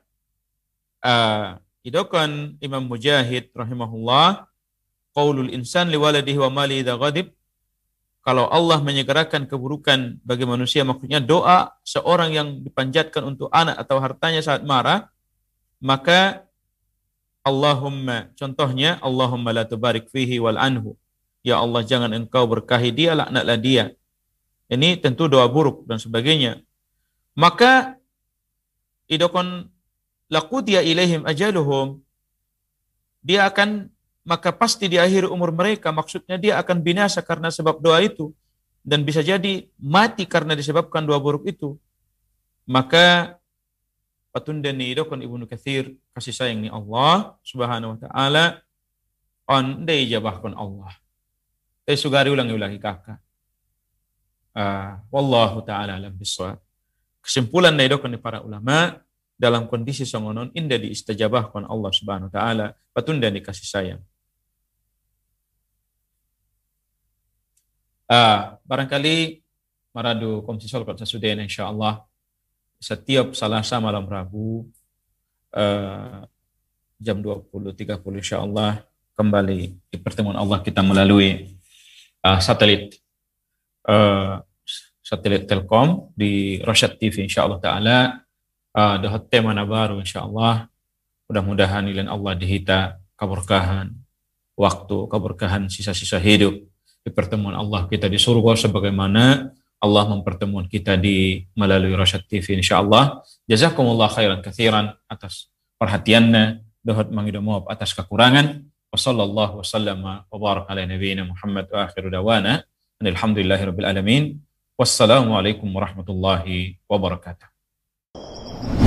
idokon Imam Mujahid rahimahullah qaulul insan liwaladihi wa mali idza ghadib kalau Allah menyegerakan keburukan bagi manusia maksudnya doa seorang yang dipanjatkan untuk anak atau hartanya saat marah maka Allahumma, contohnya Allahumma la tubarik fihi wal anhu. Ya Allah jangan engkau berkahi dia, laknatlah dia. Ini tentu doa buruk dan sebagainya. Maka idokon laqudiya ilaihim ajaluhum. Maka pasti di akhir umur mereka, maksudnya dia akan binasa karena sebab doa itu. Dan bisa jadi mati karena disebabkan doa buruk itu. Maka patundani idokon Ibnu Katsir kasih sayang ni Allah Subhanahu wa taala on dei jabahkan Allah. Sugari ulangi kakak. Wallahu taala alam bisawab. Kesimpulan na idokon ni para ulama dalam kondisi songonon indah diistajabahkan Allah Subhanahu wa taala patundani kasih sayang. Barangkali maradu komisi sol kot sasudena insyaallah setiap Selasa malam Rabu jam 20.30 insyaallah kembali di pertemuan Allah kita melalui satelit satelit Telkom di Rosyad TV insyaallah taala. Dohot tema baru insyaallah. Mudah-mudahan ilan Allah dihita keberkahan waktu, keberkahan sisa-sisa hidup di pertemuan Allah kita di surga sebagaimana Allah mempertemuan kita di melalui Rosyad TV insyaallah. Jazakumullah khairan katsiran atas perhatiannya, dohot mangido maaf atas kekurangan. Wassallallahu wasallama wa baraka ala nabiyyina Muhammad wa akhiru dawana alhamdulillahirabbil alamin. Wassalamualaikum warahmatullahi wabarakatuh.